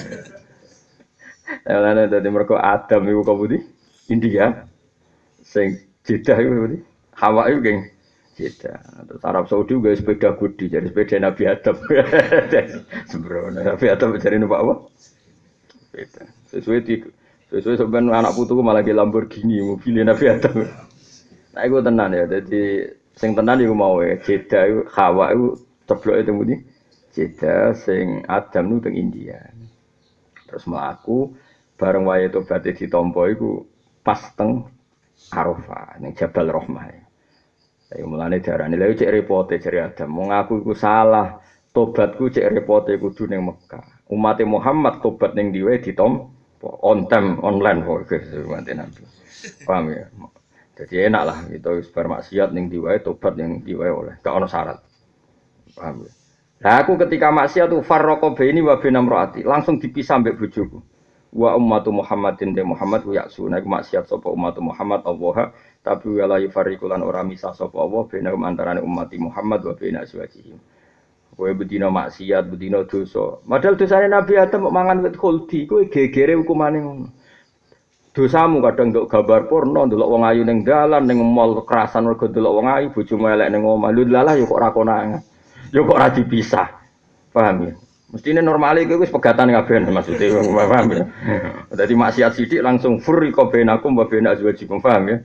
A: Mulane dadi mergo Adam iku kabudi India. Sing Jeddah iku kabudi Hawa iku geng Jeddah. Terus Arab Saudi juga sepeda gudi jadi sepeda Nabi Adam. Sembrono, Nabi Adam jare numpak apa? Sepeda. Sesuai sebenarnya anak putuku malah ke Lamborghini mobil Nabi Adam. Nah itu tenan ya, jadi sing tenan iku mau Jeddah iku Hawa iku cebloke teng pundi? Jeddah sing Adam nu teng India. Terus mlaku bareng wae tobaté ditampa iku pas teng Arafah ning Jabal Rahmah. Ayo mulane diarani lha cek repote jare Adam. Wong aku iku salah, tobatku cek repote kudu ning Mekah. Umat Muhammad tobat ning diwe ditampa on time online kok mati nanti. Paham ya? Jadi enak lah itu bermaksiat ning diwae tobat yang diwae oleh gak ono syarat. Paham ya? Nah aku ketika maksiat tuh farraqo baini wa baina imraati langsung dipisah mbek bojoku. Wa ummatu Muhammadin de Muhammad ku yaksuna iku maksiat sapa ummatu Muhammad Allah tapi wala yufariqulan ora misah sapa Allah baina antarané umat Muhammad wa baina azwajihim. Kowe bedina maksiat, bedina dosa. Padahal dosane Nabi Adam kok mangan wit khuldi, kowe gegere hukumane ngono. Dosamu kadang nduk gambar porno, ndelok wong ayu ning dalan, ning mall kerasan mergo ndelok wong ayu, bojomu elek ning omah. Lho lalah ya kok ora konangan. Ya kok ora dipisah. Paham ya? Mestine normale kowe wis pegatan kabeh maksudnya, paham ya? Dadi maksiat sithik langsung furriqa bainakum wa baina azwajikum, paham ya?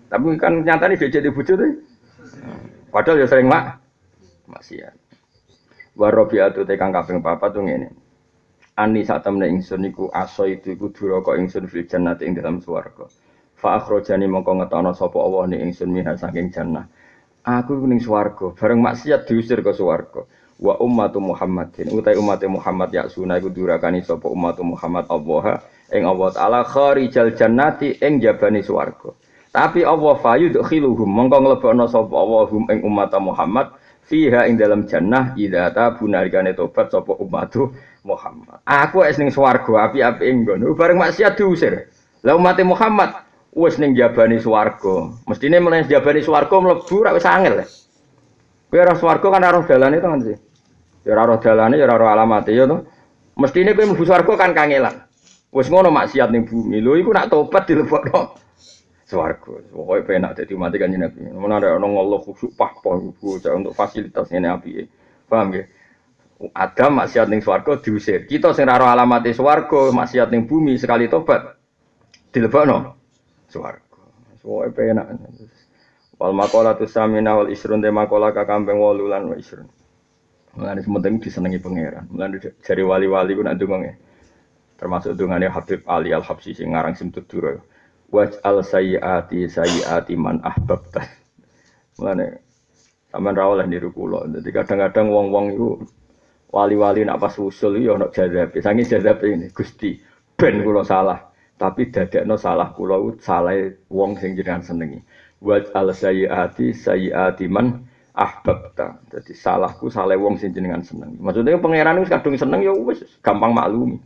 A: Tapi kan nyatane dia jadi bojo tuh. Padahal ya sering maksiat. Wa rabi'atu tekang kaping 4 tuh ngene. Ani sak temne ingsun iku aso itu iku duraka ingsun fil jannati ing dalam swarga. Fa akhrajani mongko ngetono sapa Allah ni ingsun minha saking jannah. Aku iku ning swarga, bareng maksiat diusir ke swarga. Wa ummatu Muhammadin utai umat Muhammad ya sunah iku durakani sapa umat Muhammad Allah ing Allah taala kharijal jannati ing jabane swarga. Tapi Allah fayudkhiluhum mongko nglebokno sapa Allah hum ing umat Muhammad fiha ing dalam jannah idza tabuna alikane tobat sapa umat Muhammad. Aku wis ning swarga api-api ing ngono bareng maksiat diusir. Lah umat Muhammad wis ning jabane swarga. Mestine mlebu jabane swarga mlebu ra wis angel. Kowe ora swarga kan ora dalane to kan sih. Ya ora roh dalane ya ora roh alamate ya to. Mestine kowe mlebu swarga kan kangelan. Wis ngono maksiat ning bumi. Lho iku nak tobat dilebokno swarga. Pokoke penak dadi umat Kanjeng Nabi. Mun ana ngeluh khusuk pahpoh iku untuk fasilitas ngene apike. Paham nggih? Adam maksiat ning swarga diusir. Kita sing ora roh alamate swarga, maksiat ning bumi sekali tobat dilebokno swarga. Pokoke penak. Wal maqalatu samina wal isrun de maqala ka kambing 8 lan wa isrun. Mulane sementing disenengi pangeran. Mulane jare wali-wali ku nak ndonga. Termasuk dongane Habib Ali Al-Habsyi sing ngarang Simtudura. Waj'al sayyiati man ahbabta. Mulane sampean ra oleh niru kula. Dadi kadang-kadang wong-wong iku wali-wali nak pas usul ya ana jazab. Sange jazab ini Gusti ben kula salah. Tapi dadekno salah kula salah wong sing jenengan senengi. Waj'al sayyiati man ahbabta. Jadi salahku salah wong sing jenengan seneng. Maksudnya pangeran wis kadung seneng ya wis gampang maklumi.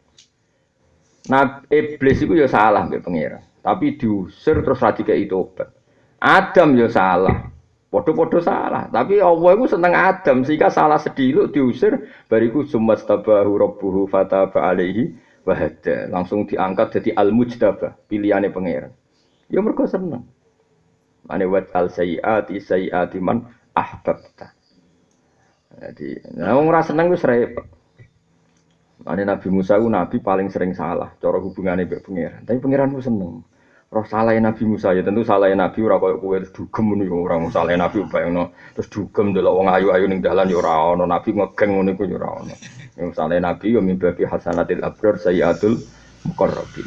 A: Nah, iblis itu ya salah mbek pangeran, tapi diusir terus ra dikeki tobat. Adam ya salah. Padha-padha salah, tapi Allah itu seneng Adam sehingga salah sediluk diusir bariku sumastabahu rabbuhu fataba alaihi wa hada. Langsung diangkat jadi al-mujtaba, pilihane pangeran. Ya mergo seneng. Ane wat al sayyiati man ahbabta. Jadi, nah wong ora seneng wis repot. Ane Nabi Musa ku nabi paling sering salah cara hubungane mbek pangeran. Tapi pangeran ku seneng. Roh salahe Nabi Musa ya tentu salahe Nabi ora koyo kowe terus dugem ngono ya ora salahe Nabi bayangno terus dugem delok wong ayu-ayu ning dalan ya ora ana Nabi ngegeng ngono iku ya ora ana. Yang salahe Nabi ya mimbabi hasanatil abrar sayyatul muqarrabin.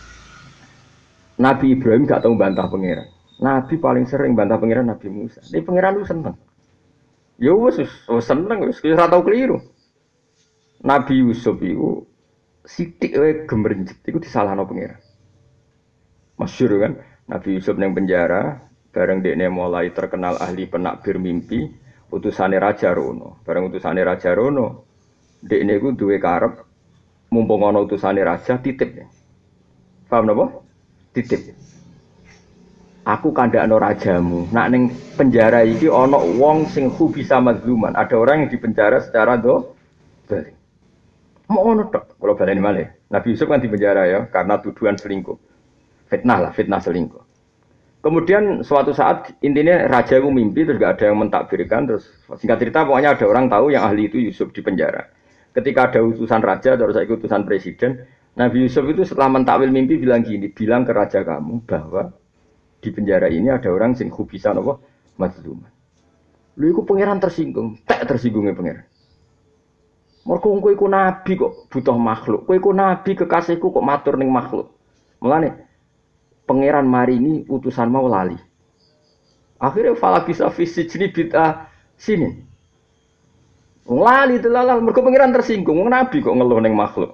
A: Nabi Ibrahim gak tau bantah pangeran. Nabi paling sering bantah pangeran Nabi Musa. Tapi pangeran lu seneng. Ya wis seneng wis ora tau keliru. Nabi Yusuf itu sithik wae gemrenjet iku disalahno pangeran. Masyhur kan Nabi Yusuf nang penjara bareng dekne mulai terkenal ahli penakbir mimpi utusane Raja Rono. Bareng utusane Raja Rono dekne iku duwe karep mumpung ana utusane raja titip. Paham napa? Titip. Aku kandhakno rajamu. Nak ning penjara iki ana wong sing bisa mazluman. Ada orang yang dipenjara secara dolim. Mau ngono tok, kalau baleni malih. Nabi Yusuf kan di penjara ya karena tuduhan selingkuh. Fitnah selingkuh. Kemudian suatu saat intinya raja itu mimpi terus gak ada yang mentakbirkan terus singkat cerita pokoknya ada orang tahu yang ahli itu Yusuf di penjara. Ketika ada utusan raja terus saya utusan presiden, Nabi Yusuf itu setelah mentakwil mimpi bilang gini, bilang ke raja kamu bahwa di penjara ini ada orang sing bisa napa mazluman. Lu iku pangeran tersinggung, tak tersinggungnya pangeran. Mergo kowe iku nabi kok butuh makhluk. Kowe iku nabi kekasihku kok matur ning makhluk. Mulane pangeran maringi utusan mau lali. Akhirnya fala bisa fisijni bid'ah sini. Wong lali delalah mergo pangeran tersinggung. Wong nabi kok ngeluh ning makhluk.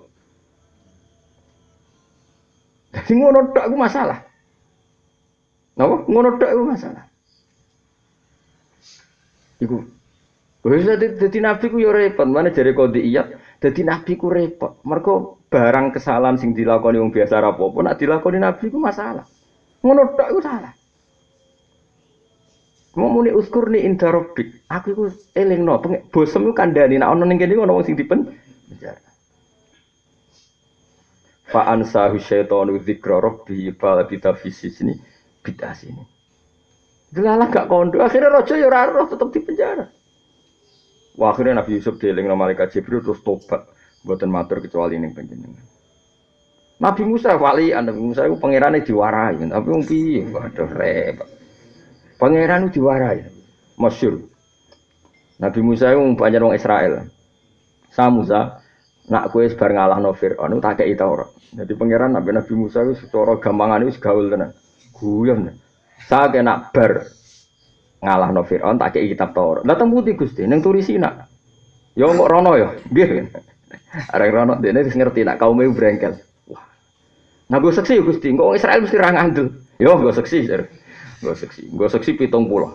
A: Dadi ngono tok iku masalah. Napa? Ngono tok iku masalah. Iku wis dadi nabi ku yo repot, mana jare qodiyat, dadi nabi ku repot. Mergo barang kesalahan sing dilakoni wong biasa ra apa-apa, nek dilakoni nabi ku masalah. Ngono tok iku salah. Mau muni uskurni inda rabbik. Aku iku elingno, bosem ku kandhani nek ana ning kene ana wong sing dipen penjara. Fa ansahu syaitanu dzikra rabbi fa labita fi sijni bid'ah sini. Delalah gak kondo, akhirnya raja ya ora roh tetep di penjara. Wah, akhirnya Nabi Yusuf dielingno malaikat Jibril terus tobat, mboten matur kecuali ning panjenengan. Nabi Musa Nabi Musa itu pangerane diwarai, tapi wong piye? Waduh repot. Pangeran itu diwarai. Masyhur. Nabi Musa itu banyak orang Israel. Sa Musa, nak kowe sebar ngalahno Firaun tak kei Taurat. Jadi pangeran Nabi Musa itu secara gampangan itu gaul tenan. Guyon. Sa kena bar ngalahno Firaun tak kei kitab Taurat. Lah teng pundi Gusti? Ning Turisina. Ya kok rono ya. Nggih. Arek rono dene wis ngerti nak kaume brengkel. Wah. Nah gue seksi Gusti, kok Israel mesti ra ngandel. Yo gue seksi. Gue seksi 70.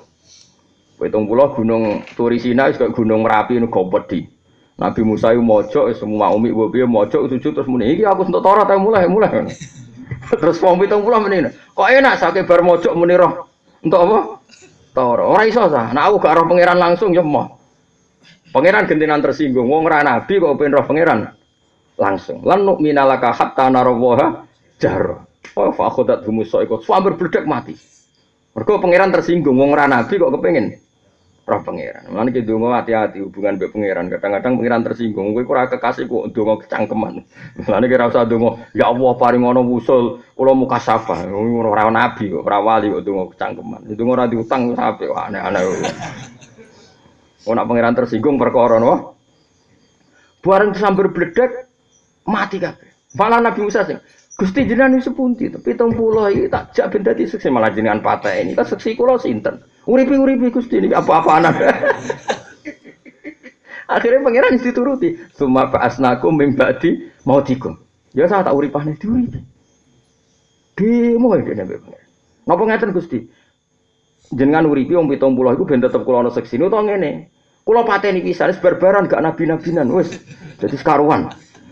A: 70 gunung Turisina wis kok gunung Merapi niku gopedi. Nabi Musa itu mojok semua umi piye mojok sujud terus muni iki aku entuk Taurat mulai. Terus wong 70 meneh. Kok enak sake bar mojok muni roh. Entuk apa? Taurat. Ora iso sah. Nek aku gak roh pangeran langsung ya moh. Pangeran gentenan tersinggung, wong ora nabi kok pengen roh pangeran langsung. Lan nu'minalaka hatta narawaha jar. Oh fa akhadat Musa iku sambar bledak mati. Mergo pangeran tersinggung, wong ora nabi kok kepengin roh pangeran. Lan iki ndonga hati-hati hubungan mbek pangeran. Kadang-kadang pangeran tersinggung, kowe ora kekasih kok ndonga kecangkeman. Lan iki ora usah ndonga, ya Allah paring ana wusul, kula mukasafah. Ora nabi kok, ora wali kok ndonga kecangkeman. Ndonga ora diutang sampe aneh-aneh. Nak pangeran tersinggung perkara napa? Bareng sambar bledak mati kabeh. Malah Nabi Musa sing Gusti jenengan wis sepundi to? 70 iki tak jak ben dadi seksi malah jenengan pateni. Tak seksi kula sinten? Uripi Gusti niki apa-apaan. Akhirnya pangeran wis dituruti. Summa ba'asnakum min ba'di mautikum. Ya saya tak uripane diuripi. Demo iki nek pangeran. Napa ngaten Gusti? Jenengan uripi wong 70 iku ben tetep kula ana seksine utawa ngene. Kula pateni pisan wis barbaran gak nabi-nabinan wis. Dadi sekaruan.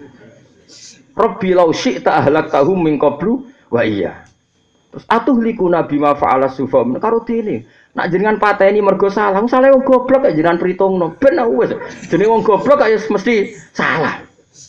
A: Rabbi law syi'ta ahlaktahum min qablu wa iya. Terus atuhliku nabi ma fa'ala sufa karo dene. Nak jenengan pateni mergo salah, salah wong goblok kok jenengan pritungno. Ben wis. Jenenge wong goblok kok mesti salah.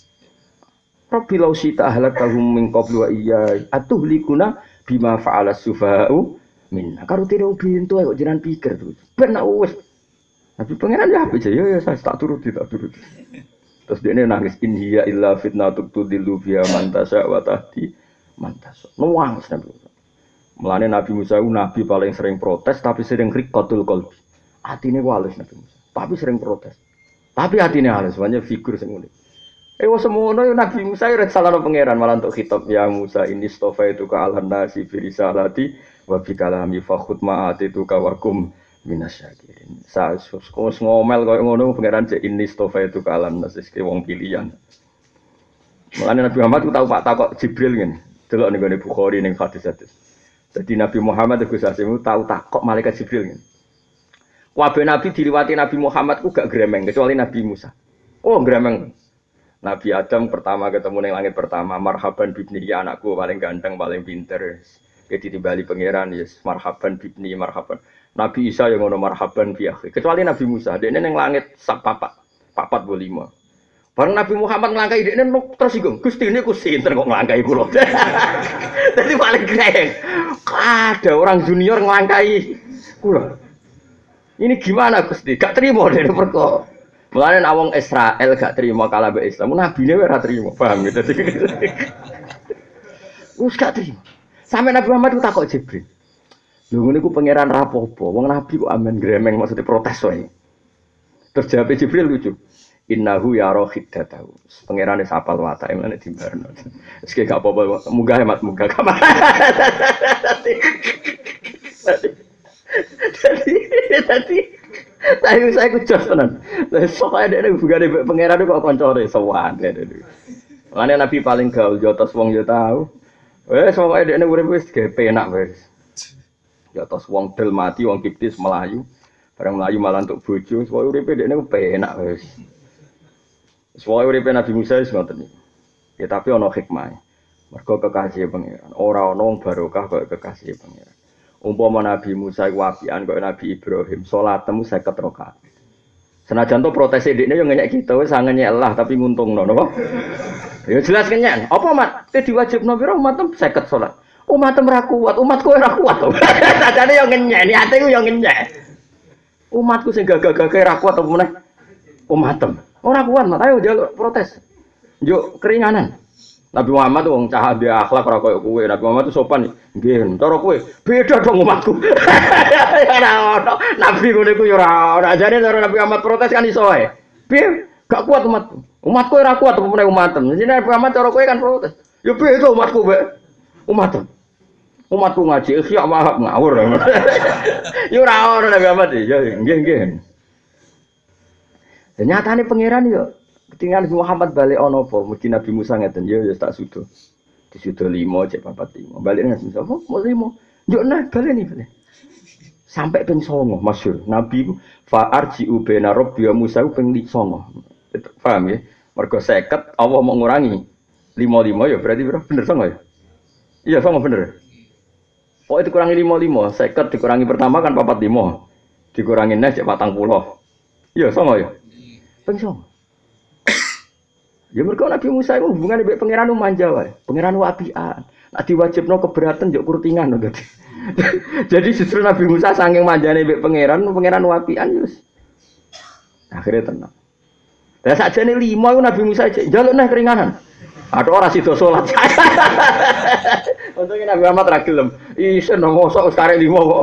A: Rabbi law syi'ta ahlaktahum min qablu wa iya. Atuhlikuna bima fa'ala sufa'u minna karo tire bintu kok jenengan pikir terus ben wis tapi pangeran ya ape ya saya tak turuti terus dia nangis in hiya illa fitnatut tudillu biha man tasya wa tahdi man tasya nuwang Nabi mulane Nabi Musa nabi paling sering protes tapi sering riqatul qalbi atine halus Nabi Musa tapi sering protes tapi atine halus banyak figur sing ngene wes semono Nabi Musa ora salah pangeran malah untuk khitab ya Musa ini stofaitu ka alan nasi fi risalati wa bi kalami fa khutma'ati tu kawakum minasyakirin. Sasus ngomel koyo ngono pangeran cek ini stofaitu ka alan nasi ki wong pilihan. Mulane Nabi Muhammad ku tau Pak takok Jibril ngene. Delok ning gone Bukhari ning hadis-hadis. Jadi Nabi Muhammad Gus Asimu tau takok malaikat Jibril ngene. Kabeh nabi diliwati Nabi Muhammad ku gak gremeng kecuali Nabi Musa. Oh gremeng. Nabi Adam pertama ketemu ning langit pertama, marhaban bibni ya anakku paling ganteng, paling pinter. Jadi timbali pangeran yes, marhaban bibni marhaban. Nabi Isa yang ngono marhaban bi akhi. Kecuali Nabi Musa, dekne ning langit sak papat 5. Bareng Nabi Muhammad nglangkai dekne tersinggung. Gusti niku sinten kok nglangkai kula. Dadi paling greng. Ada orang junior nglangkai kula. Ini gimana Gusti? Gak terima dene perkara. Mulane nek wong Israel gak terima kalah mbek Islam, nabine ora terima, paham gitu. Wis gak terima. Sampai Nabi Muhammad ku takok Jibril. Lho ngene ku pangeran rapopo, wong nabi kok amen gremeng maksudnya protes wae. Terus jawab Jibril lucu. Innahu yara khiddatahu. Pangerane sapal watake mlane dimbarno. Wis gak apa-apa, munggah hemat munggah kamar. Tadi saya ku jos tenan. Soale dekne hubungane mbek pangeran kok kancane sowan. Mane Nabi paling gaul yo tos wong yo tau. Wes pokoke dekne urip wis penak wis. Yo tos wong del mati wong kiptis melayu. Bareng melayu malah untuk bojo, pokoke uripe dekne penak wis. Pokoke uripe Nabi Musa wis ngoten iki. Ya tapi ana hikmah. Mergo kekasih pangeran. Ora ana wong barokah kaya kekasih pangeran. Umpama Nabi Musa iku apian kaya Nabi Ibrahim, salatmu 50 rakaat. Senajan to protes dekne yo ngenyek kita wis sangenyek Allah tapi nguntungno napa? Ya jelas kenyek. Apa mat? Te diwajibno pira umatem 50 salat. Umatem ra kuat, umatku ora kuat to. Sajane yo ngenyek, niate ku yo ngenyek. Umatku sing gagah-gagah ra kuat apa meneh? Umatem. Ora kuat, mat ayo njaluk protes. Yo keringanan. Nabi Muhammad wong cah dia akhlak ora koyo kowe. Nabi Muhammad itu sopan. Nggih, cara kowe beda dong umatku. Ora ono. Nabi ngono iku yo ora ono. Jane cara Nabi Muhammad protes kan iso wae. Piye? Gak kuat umatku. Umatku ora kuat apa meneh umatem. Jadi Nabi Muhammad cara kowe kan protes. Yo piye itu umatku, Mbak? Umatem. Umatku ngaji ikhya wahab ngawur. Yo ora ono Nabi Muhammad. Ya nggih. Nyatane pangeran yo ketika Nabi Muhammad balik ono apa? Mesti Nabi Musa ngeten ya tak sudo. Disudo 5 cek 45. Balik nang Musa, "Oh, mau 5." Yo nah balik nih. Sampai ping 9 masyhur. Nabi ku fa arji'u baina rabbi wa Musa ping 9. Paham ya? Mergo 50 Allah mau ngurangi 55 ya berarti bener 9 ya? Iya 9 bener. Pokoknya dikurangi 55, 50 dikurangi pertama kan 45. Dikurangi nes cek 40. Iya 9 ya? Ping 9. Ya mergo Nabi Musa itu hubungane mbek pangeran manja wae. Pangeran apian. Nek diwajibno keberatan yo kurtingan dadi. Jadi justru Nabi Musa saking manjane mbek pangeran apian yo. Akhire tenang. Lah sakjane 5 iku Nabi Musa njaluk neh keringanan. Ada orang sido salat. Untungnya Nabi Muhammad ra gelem. Isen mosok wis karek 5 kok.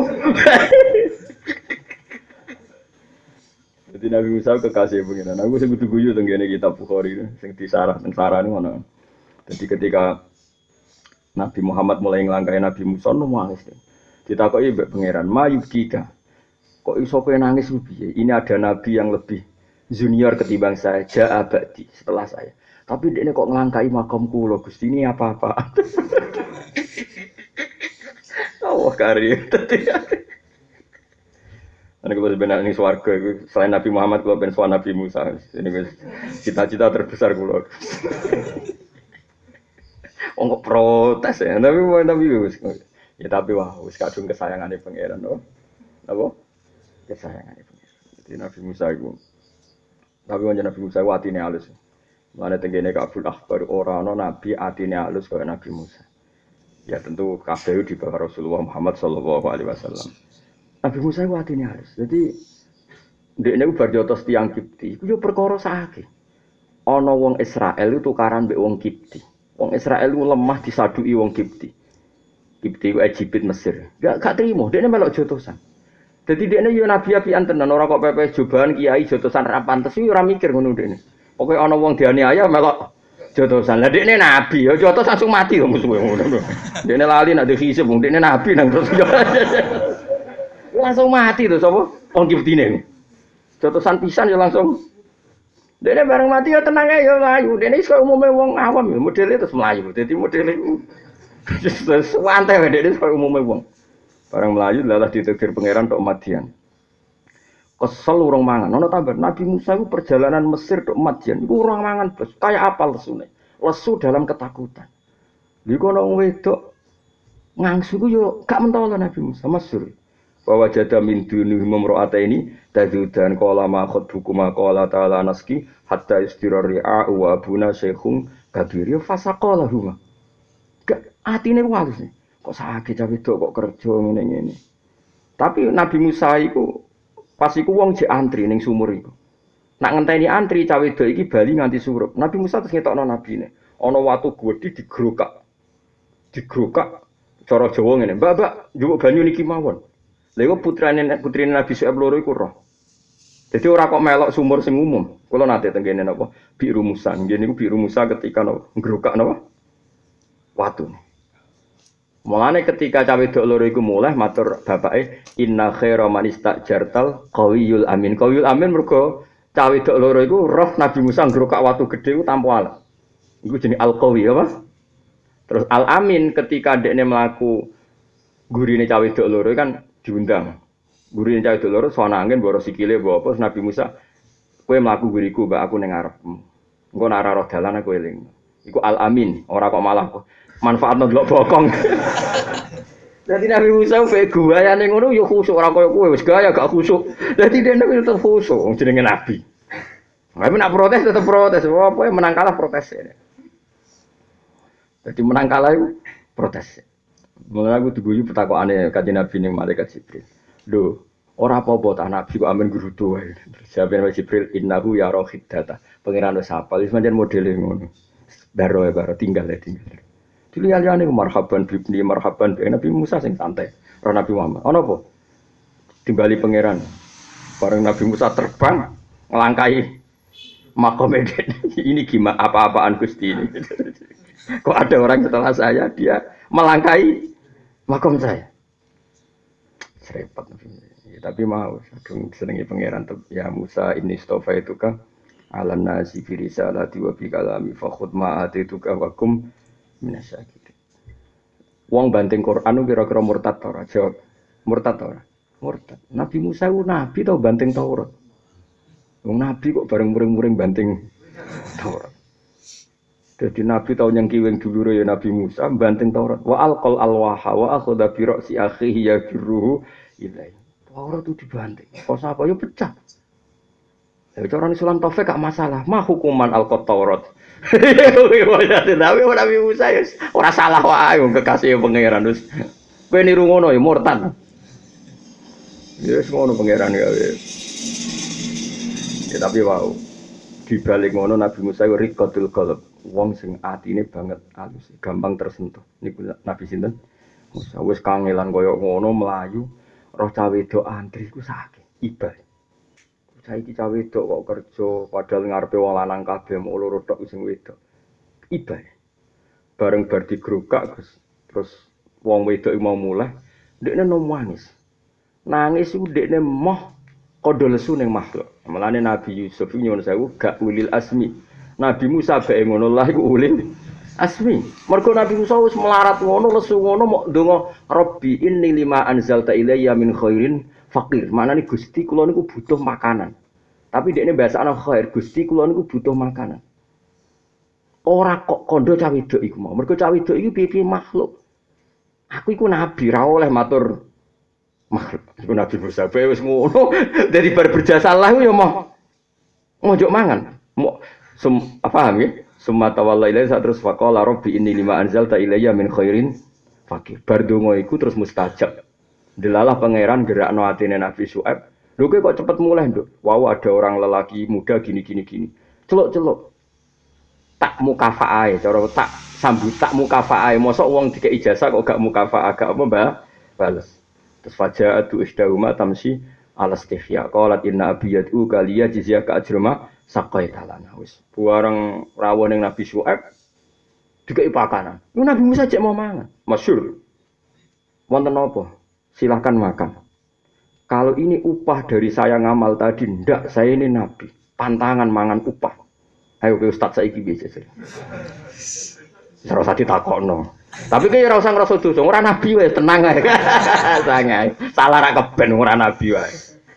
A: Jadi Nabi Musa kekasih pengiran. Aku sing kudu guyu teng kene kitab Bukhari sing disarah teng sarane ngono. Jadi ketika Nabi Muhammad mulai nglangkai Nabi Musa nangis. Ditakoki mbek pangeran, "Mayubkika. Kok iso kowe nangis piye? Ini ada nabi yang lebih junior ketimbang saya, ja'a ba'di setelah saya. Tapi dekne kok nglangkai makam kula, Gusti ini apa-apa." Allah karim. Ini kalau sebenarnya ini swarga, selain Nabi Muhammad, kalau ben swarga Nabi Musa, ini cita-cita terbesar kalau. Oh nggak protes ya, tapi ya tapi wah, wis kadung kesayangan di pangeran, no, apa? Kesayangan di pangeran. Jadi Nabi Musa itu, tapi macam Nabi Musa itu hatinya halus. Mana tenggine kabul akhbar orang no Nabi hatinya halus kayak Nabi Musa. Ya tentu kabeh di bawah Rasulullah Muhammad Sallallahu Alaihi Wasallam. Nabi Musa itu hatinya halus. Jadi ndekne ku bar jotos tiyang Kipti, iku yo perkara sakake. Ana wong Israel itu tukaran mbek wong Kipti. Wong Israel ku lemah disaduki wong Kipti. Kipti ku Egypt Mesir. Gak trimo, ndekne melok jotosan. Dadi ndekne yo nabi apian tenan, ora kok pepe jobahan kiai jotosan ra pantes iki ora mikir ngono ndekne. Pokoke ana wong dianiaya melok jotosan. Lah ndekne nabi, yo jotos langsung mati wong musuhe ngono. Ndekne lali nek dihisib wong ndekne nabi nang terus. Langsung mati tuh sapa? Wong Kiptine. Jotosan pisan ya langsung. Dene bareng mati ya tenang ae ya mlayu. Dene iso umume wong awam ya modele terus mlayu. Dadi modele santai wae dene iso umume wong. Bareng mlayu lalah ditegir pangeran tok Madian. Kesel urung mangan. Ono tambah Nabi Musa itu perjalanan Mesir tok Madian iku urung mangan bos. Kayak apa lesune? Lesu dalam ketakutan. Iku ono wedok ngangsu ku yo gak mentolo Nabi Musa masyhur. Bahwa jada min dunuh memro'ata ini tazudan qala ma khutbukuma qala ta'ala naski hatta istirari'a wa abuna syekhung kabir ya fasaqala huma. Gak atine walus nih. Kok sakit cah wedok kok kerja ngene-ngene. Tapi Nabi Musa iku pas iku wong jek antri ning sumur iku. Nak ngenteni antri cah wedok iki bali nganti surup. Nabi Musa terus ngetokno nabine. Ana watu gedhi digrokak. Digrokak cara Jawa ngene. Mbak, njupuk banyu niki mawon. Lha iku putrine Nabi Syuaib loro iku roh. Jadi ora kok melok sumur sing umum. Kula nate tengene napa? Biru Musa. Nggih niku Biru Musa ketika napa? Ngrokak napa? Watu. Mulane ketika cawe wedok loro iku mulih matur bapake inna khaira man istajartal qawiyul amin. Qawiyul amin mergo cawe wedok loro iku roh Nabi Musa ngrokak watu gedhe ku tanpa alat. Iku jenenge al-qawi apa? Terus al-amin ketika ndekne mlaku gurine cawe wedok loro kan diundang. Gurine cawe wedok loro sono angin mboro sikile mbok apa Nabi Musa kowe mlaku guriku mbak aku ning ngarepmu. Engko nek ora roh dalan aku eling. Iku al-amin, ora kok malah manfaatno delok bokong. Dadi Nabi Musa pe guayane ngono ya khusuk ora koyo kowe wis gaya gak khusuk. Dadi dene tetep khusuk jenenge nabi. Tapi nak protes tetep protes. Apa menang kalah protes. Dadi menang kalah iku protes. Mulane aku diguyu petakokane kanjeng Nabi ning malaikat Jibril. Lho, ora apa-apa ta Nabi kok amen grudu wae. Jawaban Jibril innahu ya rohid data. Pangeran wis hafal wis pancen modele ngono. Daro tinggal ya tinggal. Dilihat-lihat nih marhaban bibni marhaban Nabi Musa sing santai. Roh Nabi Muhammad. Ono apa? Timbali pangeran. Bareng Nabi Musa terbang ngelangkai makom Eden. Ini gimana apa-apaan Gusti ini. Kok ada orang setelah saya dia melangkai makom saya. Serempet. Ya, tapi mau kadung senengi pangeran ya Musa ini stofa itu kan alam nasi fi risalati wa bi kalami fa khudh ma atituka wa kum minasyakirin. Wong banting Quran kira-kira murtad ta ora? Jawab. Murtad ta ora? Murtad. Nabi Musa ku nabi tau banting Taurat. Wong nabi kok bareng muring-muring banting Taurat. Jadi nabi tau nyengkiwing dulure ya Nabi Musa banting Taurat. Wa alqal alwaha wa akhadha bi ra'si akhihi yajruhu ilai. Taurat itu dibanting. Kok sapa yo pecah. Ya cara Islam Taufik gak masalah. Mah hukuman alqat Taurat. Tapi Nabi Musa ya ora salah wae wong kekasih pangeran wis. Kowe niru ngono ya murtad. Ya wis ngono pangeran ya. Ya tapi wow. Di balik ngono Nabi Musa iku riqatul qalb. Wong sing atine banget alus, gampang tersentuh. Niku Nabi sinten? Musa wis kangelan kaya ngono mlayu, roh cah wedok antri ku sakit. Ibal. Saiki cah wedok kok kerja padahal ngarepe wong lanang kabeh mung loro tok sing wedok. Ibal. Bareng bar digrokak terus wong wedok mau mulai, ndekne nangis. Nangis iku ndekne moh kodho lesu ning makhluk. Mulane Nabi Yusuf nyuwun sewu gak ulil asmi. Nabi Musa bae ngono lah iku ulil asmi. Mergo Nabi Musa wis melarat ngono lesu ngono mok ndonga Rabbi inni lima anzalta ilayya min khairin faqir. Manane Gusti kula niku butuh makanan. Tapi dekne bahasane khair, Gusti kula niku butuh makanan. Ora kok kondo cah wedok iku mau. Mergo cah wedok iku piye-piye makhluk. Aku iku nabi ra oleh matur makhluk. Iku Nabi Musa bae wis ngono. Dari bar berjasa Allah ya mau ngonjok mangan. Mau paham ya? Summa tawalla ilaihi terus faqala rabbi inni lima anzalta ilayya min khairin faqir. Bar donga iku terus mustajab. Delalah pangeran gerakno atine Nabi Syuaib. Lho kowe kok cepet mulai, Nduk? Wow, ada orang lelaki muda gini. Celuk-celuk. Tak mukafaae, cara tak sambut tak mukafaae. Mosok wong dikek ijazah kok gak mukafaah, gak apa, Mbah? Bales. Terus faja'atu ishdahuma tamsi ala istihya. Qalat inna abi yad'u kaliya jizyaka ajrama saqaitalana. Wis bareng rawuh ning Nabi Syuaib dikeki pakanan. Lu Nabi Musa cek mau mangan. Masyhur. Wonten apa? Silahkan makan. Kalau ini upah dari saya ngamal tadi, ndak, saya ini nabi. Pantangan mangan upah. Ayo ke Ustaz saiki piye jare. Ora usah ditakokno. Tapi ki ora usah ngrasa dosa, ora nabi wae, tenang ae. Sangai. Salah ra keben ora nabi wae.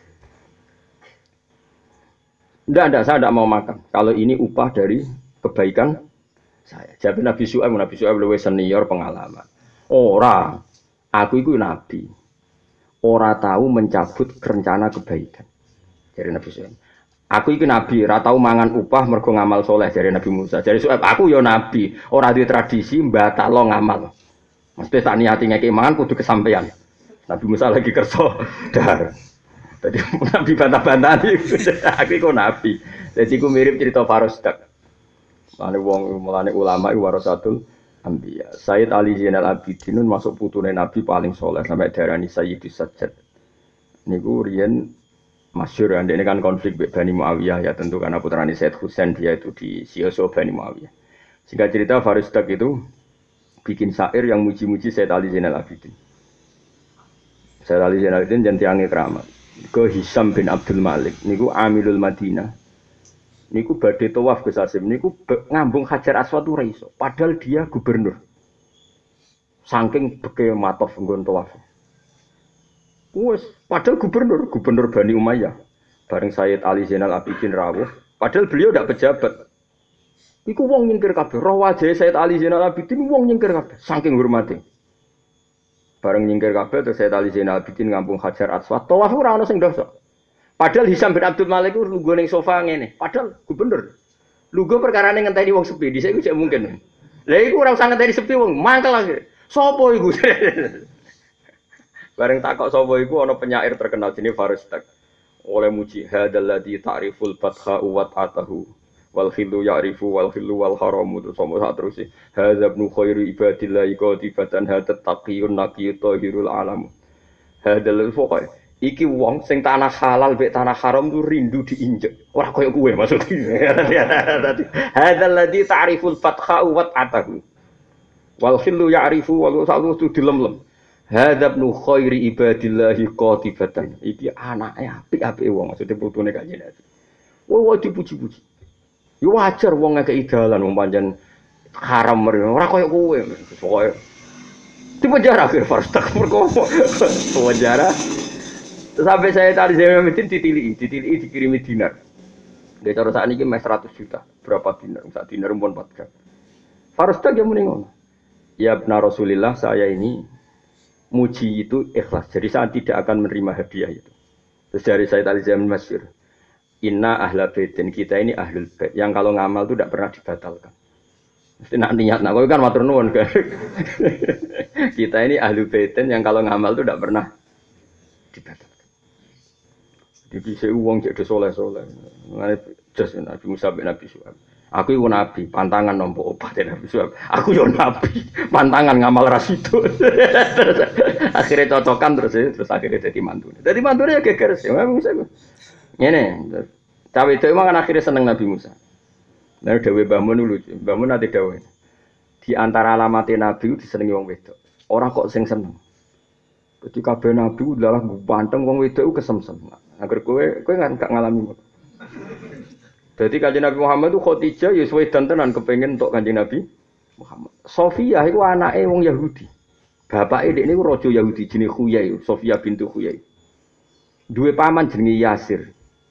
A: Ndak, saya ndak mau makan. Kalau ini upah dari kebaikan saya. Jadi Nabi Syuaib luwih senior pengalaman. Ora, aku iku nabi. Ora tahu mencabut rencana kebaikan. Jadi Nabi Syuaib. Aku iki nabi, ora tahu mangan upah mergo ngamal soleh dari Nabi Musa. Jadi Syuaib, aku ya nabi, ora di tradisi mbatalo ngamal. Mesti tak niati ngeki mangan kudu kesampaian. Nabi Musa lagi kerso dar. Jadi nabi bantah-bantahan aku iku nabi. Jadi iku mirip cerita Farosdak. Mulane ulama iku warasatul Ambiya. Sayyid Ali Zainal Abidin masuk putune Nabi paling soleh sampai darani Sayyidus Sajjad. Niku riyen masyhur kan ini kan konflik Bani Muawiyah ya tentu karena putrane Sayyid Husain dia itu di Sioso Bani Muawiyah. Singkat cerita Farosdak itu bikin syair yang muji-muji Sayyid Ali Zainal Abidin. Sayyid Ali Zainal Abidin jan tiange keramat. Ke Hisam bin Abdul Malik niku Amilul Madinah. Niku badhe tawaf Gus Asim niku ngambung Hajar Aswad ora iso padahal dia gubernur. Saking beke matof nggon tawaf. Wes padahal gubernur Bani Umayyah. Bareng Sayyid Ali Zainal Abidin rawuh, padahal beliau ndak pejabat. Iku wong nyingkir kabeh. Roh wajahe Sayyid Ali Zainal Abidin wong nyingkir kabeh saking hormate. Bareng nyingkir kabeh terus Sayyid Ali Zainal Abidin ngambung Hajar Aswad. Tawaf ora ana sing dosa. Padahal Hisam bin Abdul Malik itu lungguh ning sofa ngene. Padahal gubernur. Lungguh perkarane ngenteni wong sepi. Dhisik iku jek mungkin. Lah iku ora usah ngenteni sepi wong, mangkel akhir. Sopo iku? Bareng takok sapa iku ana penyair terkenal jenenge Farosdak. Oleh muji hadzal ladzi ta'riful fatha wa atahu wal khillu ya'rifu wal khillu wal haramu terus sama sak terus hadza ibnu khairi ibadillahi qatibatan hadat taqiyun naqiyut tahirul alam hadal pokoke iki wong sing tanah halal mek tanah haram ku rindu diinjek ora koyo kowe maksudnya dadi hadzal ladzi ta'riful fatha wa ta'atahu wal khillu ya'rifu wal sa'u dilemlem hadza ibnu khairi ibadillahi qatibatan iki anake apik-apike wong maksudnya putune kanjeng Nabi wah dipuji-puji yo wajar wong ngekeki dalan wong pancen haram ora koyo kowe pokoke di penjara akhir Farstak merkomo penjara sampai saya tadi saya meeting ditili dikirimi dinar dia cara saat ini mes 100 juta berapa dinar sak dinar pun 4 gram Farstak yang muni ngono ya benar Rasulillah saya ini muji itu ikhlas jadi saya tidak akan menerima hadiah itu terus dari saya tadi saya masyhur inna ahla baitin kita ini ahlul bait yang kalau ngamal itu tidak pernah dibatalkan mesti nak niat nak kowe kan matur nuwun kan kita ini ahlul baitin yang kalau ngamal itu tidak pernah dibatalkan jadi saya uang jadi soleh-soleh ngene jas Nabi Musa bin Nabi Syuaib aku iku nabi pantangan nampa obat Nabi Syuaib aku yo nabi pantangan ngamal rasido akhirnya cocokan terus akhirnya jadi mantune ya geger sih Nabi Musa ngene cawe itu emang kan akhirnya seneng Nabi Musa nah dawuh Mbah Mun lucu Mbah Mun ate dawuh di antara alamate nabi disenengi wong wedok ora kok sing seneng dadi kabeh nabi adalah ganteng wong wedok kesemsem agar kowe gak ngalami dadi kanjeng Nabi Muhammad itu Khadijah ya wedan tenan kepengin untuk kanjeng Nabi Muhammad Sofia iku anake wong Yahudi bapake dhek niku raja Yahudi jenenge Khuyai Sofia bintu Khuyai duwe paman jenenge Yasir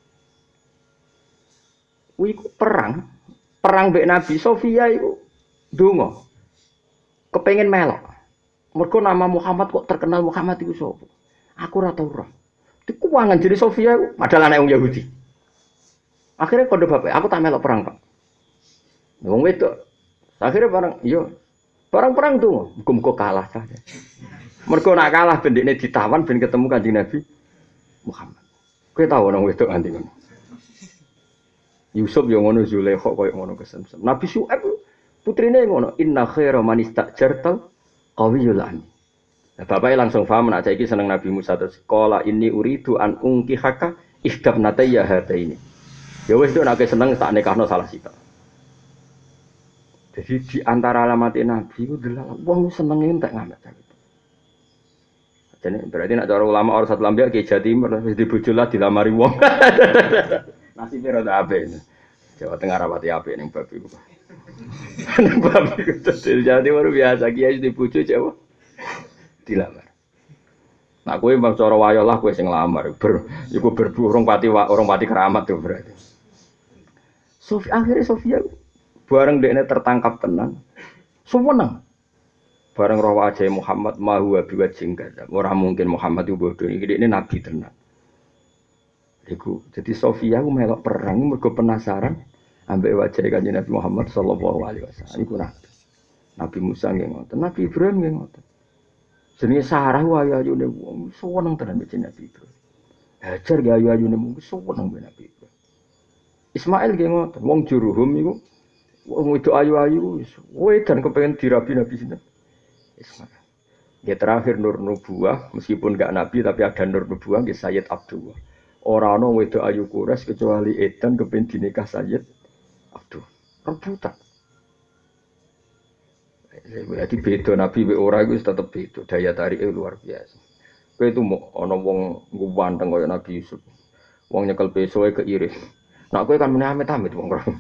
A: kuwi perang mbek Nabi Sofia iku ndonga kepengin melok mergo nama Muhammad kok terkenal Muhammad iku sapa aku ora tau roh dikuwangan jadi Sofia padahal anak wong Yahudi akhirnya kode bapak aku tak melok perang Pak wong wedok akhirnya barang perang tuh muga-muga kalah saja mergo nak kalah ben dekne ditawan ben ketemu Kanjeng Nabi Muhammad kowe tau nang wedok nganti ngono Yusuf yo ngono Zulaikha koyo ngono kesemsem Nabi Syuaib putrine ngono inna khaira man istajartal qawiyul amin bapaknya langsung paham nak saiki seneng Nabi Musa terus qala inni uridu an unkihaka ihdabnatayya hataini ya wis nek seneng tak nikahno salah sita jadi di antara alamat Nabi ku delok wong senenge entek ngamet gitu jadi berarti nak cara ulama orang satu lambe ki Jatimur wis dibojolah dilamari wong nasibe rada apik Jawa Tengah rapati apik ning bab iku bab iku terus Jatimur biasa kiai dibojo Jawa dilamar. Nah, kowe mbang cara wayo lah kowe sing nglamar. Iku berburung orang pati keramat tuh berarti. Akhirnya Sofia bareng dekne tertangkap tenan. Suweneng. Bareng roh wajah Muhammad mahu biwajhin kadza. Ora mungkin Muhammad itu bodoh iki dekne nabi tenan. Iku jadi Sofia ku melok perang mergo penasaran ambek wajah Kanjeng Nabi Muhammad sallallahu alaihi wasallam. Iku Nabi Musa nggih ngoten, Nabi Ibrahim nggih ngoten. Jenenge Sarah ayu-ayune wong seneng tenan mbek Nabi Ibrahim. Hajar ge ayu-ayune wong seneng mbek Nabi Ibrahim. Ismail ge ngoten, wong Jurhum iku wong wedok ayu-ayu wis wedan kepengin dirabi Nabi sinten. Ismail. Ya terakhir nur nubuwah meskipun enggak nabi tapi ada nur nubuwah ge Sayyid Abdullah. Ora ana wedok ayu Quraisy kecuali edan kepengin dinikah Sayyid Abdullah. Rebutan. Berarti beda Nabi be ora iku tetep beda, daya tarike luar biasa. Kowe itu mau ana wong ganteng kaya Nabi Yusuf. Wong nyekel pesoe keiris. Nak kowe kan meneh amit-amit wong ora.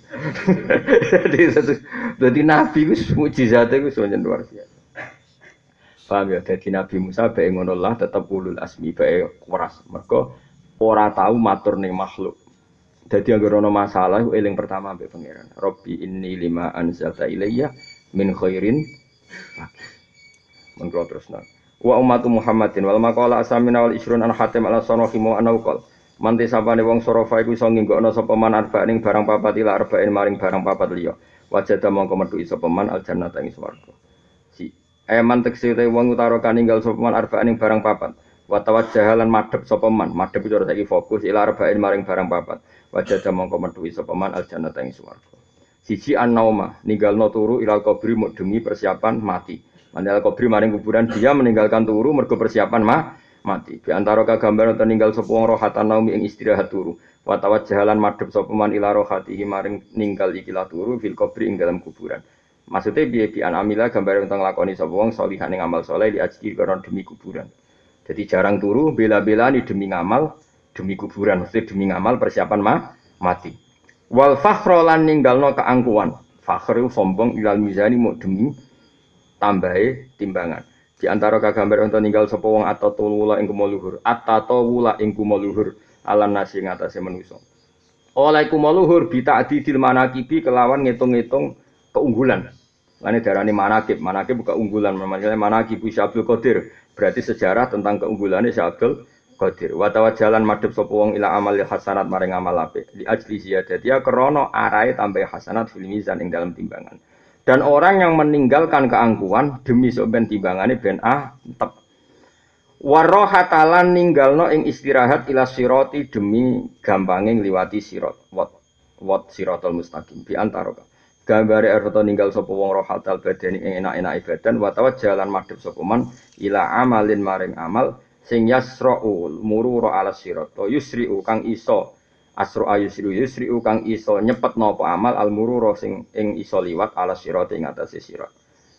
A: Dadi Nabi ku mukjizate ku sonen luar biasa. Paham ya dadi Nabi Musa bae ngono lah tetep ulul asmi bae waras. Mergo ora tau matur ning makhluk. Dadi anggere ana masalah eling pertama mbek pangeran. Robbi inni lima anzalta ilayya min khairin mengko terusna wa ummatu Muhammadin wal maqala asamina wal isrun an hatim ala sanahimu anaqal manti sapane wong sorofa iku iso nginggokno sapa man arba ning barang papat ila arba'in maring barang papat liya wajada mongko metu sapa man al jannata ing swarga si man tekse wong utara kaninggal sapa man arba ning barang papat Wa tawajjahalan madhep sapa man, madhep itu saiki fokus ila arba'in maring barang papat. Wajah mongko metuhi sapa man aljannata ing swarga. Siji an-nauma, ninggalno turu ilal kubri demi persiapan mati. Mandal kubri maring kuburan dia meninggalkan turu mergo persiapan mati. Di antara kagambar utawa ninggal sapa wong rohatan naumi ing istirahat turu. Wa tawajjahalan madhep sapa man ila rohatihi maring ninggal ikilah turu fil kubri ing dalam kuburan. Maksudnya piye bi an amila gambar tentang lakoni sapa wong salihan ing amal saleh li ajri karena demi kuburan. Jadi jarang turu bela-belani demi ngamal demi kuburan, mesti demi ngamal persiapan mati. Wal fakhra lan ninggalno keangkuhan. Fakhr sombong ilal mizani mu demi tambahe timbangan. Di antara kagambar untuk ninggal sapa wong atatawula ing kumuluhur, atatawula ing kumuluhur alan nasi ngatasé manusa. Oleh kumuluhur bi ta'didil manaqibi kelawan ngitung-ngitung keunggulan. Lane darani manaqib, manaqib bukan unggulan, namanya manaqib Syabdul Qadir. Berarti sejarah tentang keunggulannya Syabdul Qadir. Wa tawajjalan madhep sapa wong ila amal hasanat maring amal apik. Li ajli ziyadati krana arahe tambah hasanat fil mizan ing dalam timbangan. Dan orang yang meninggalkan keangkuhan demi sok ben timbangane ben tep. Warohatalan ninggalno ing istirahat ila sirati demi gampange ngliwati sirat. Wat siratal mustaqim bi antara. Gambare arep ninggal sapa wong rohatal badani ing enak-enak badan wa tawajjalan madhep sapa man ila amalin maring amal sing yasra'u murura ala sirat. Yusri'u kang iso asru yusri'u kang iso nyepetno apa amal al murura sing ing iso liwat ala sirat ing atase sirat.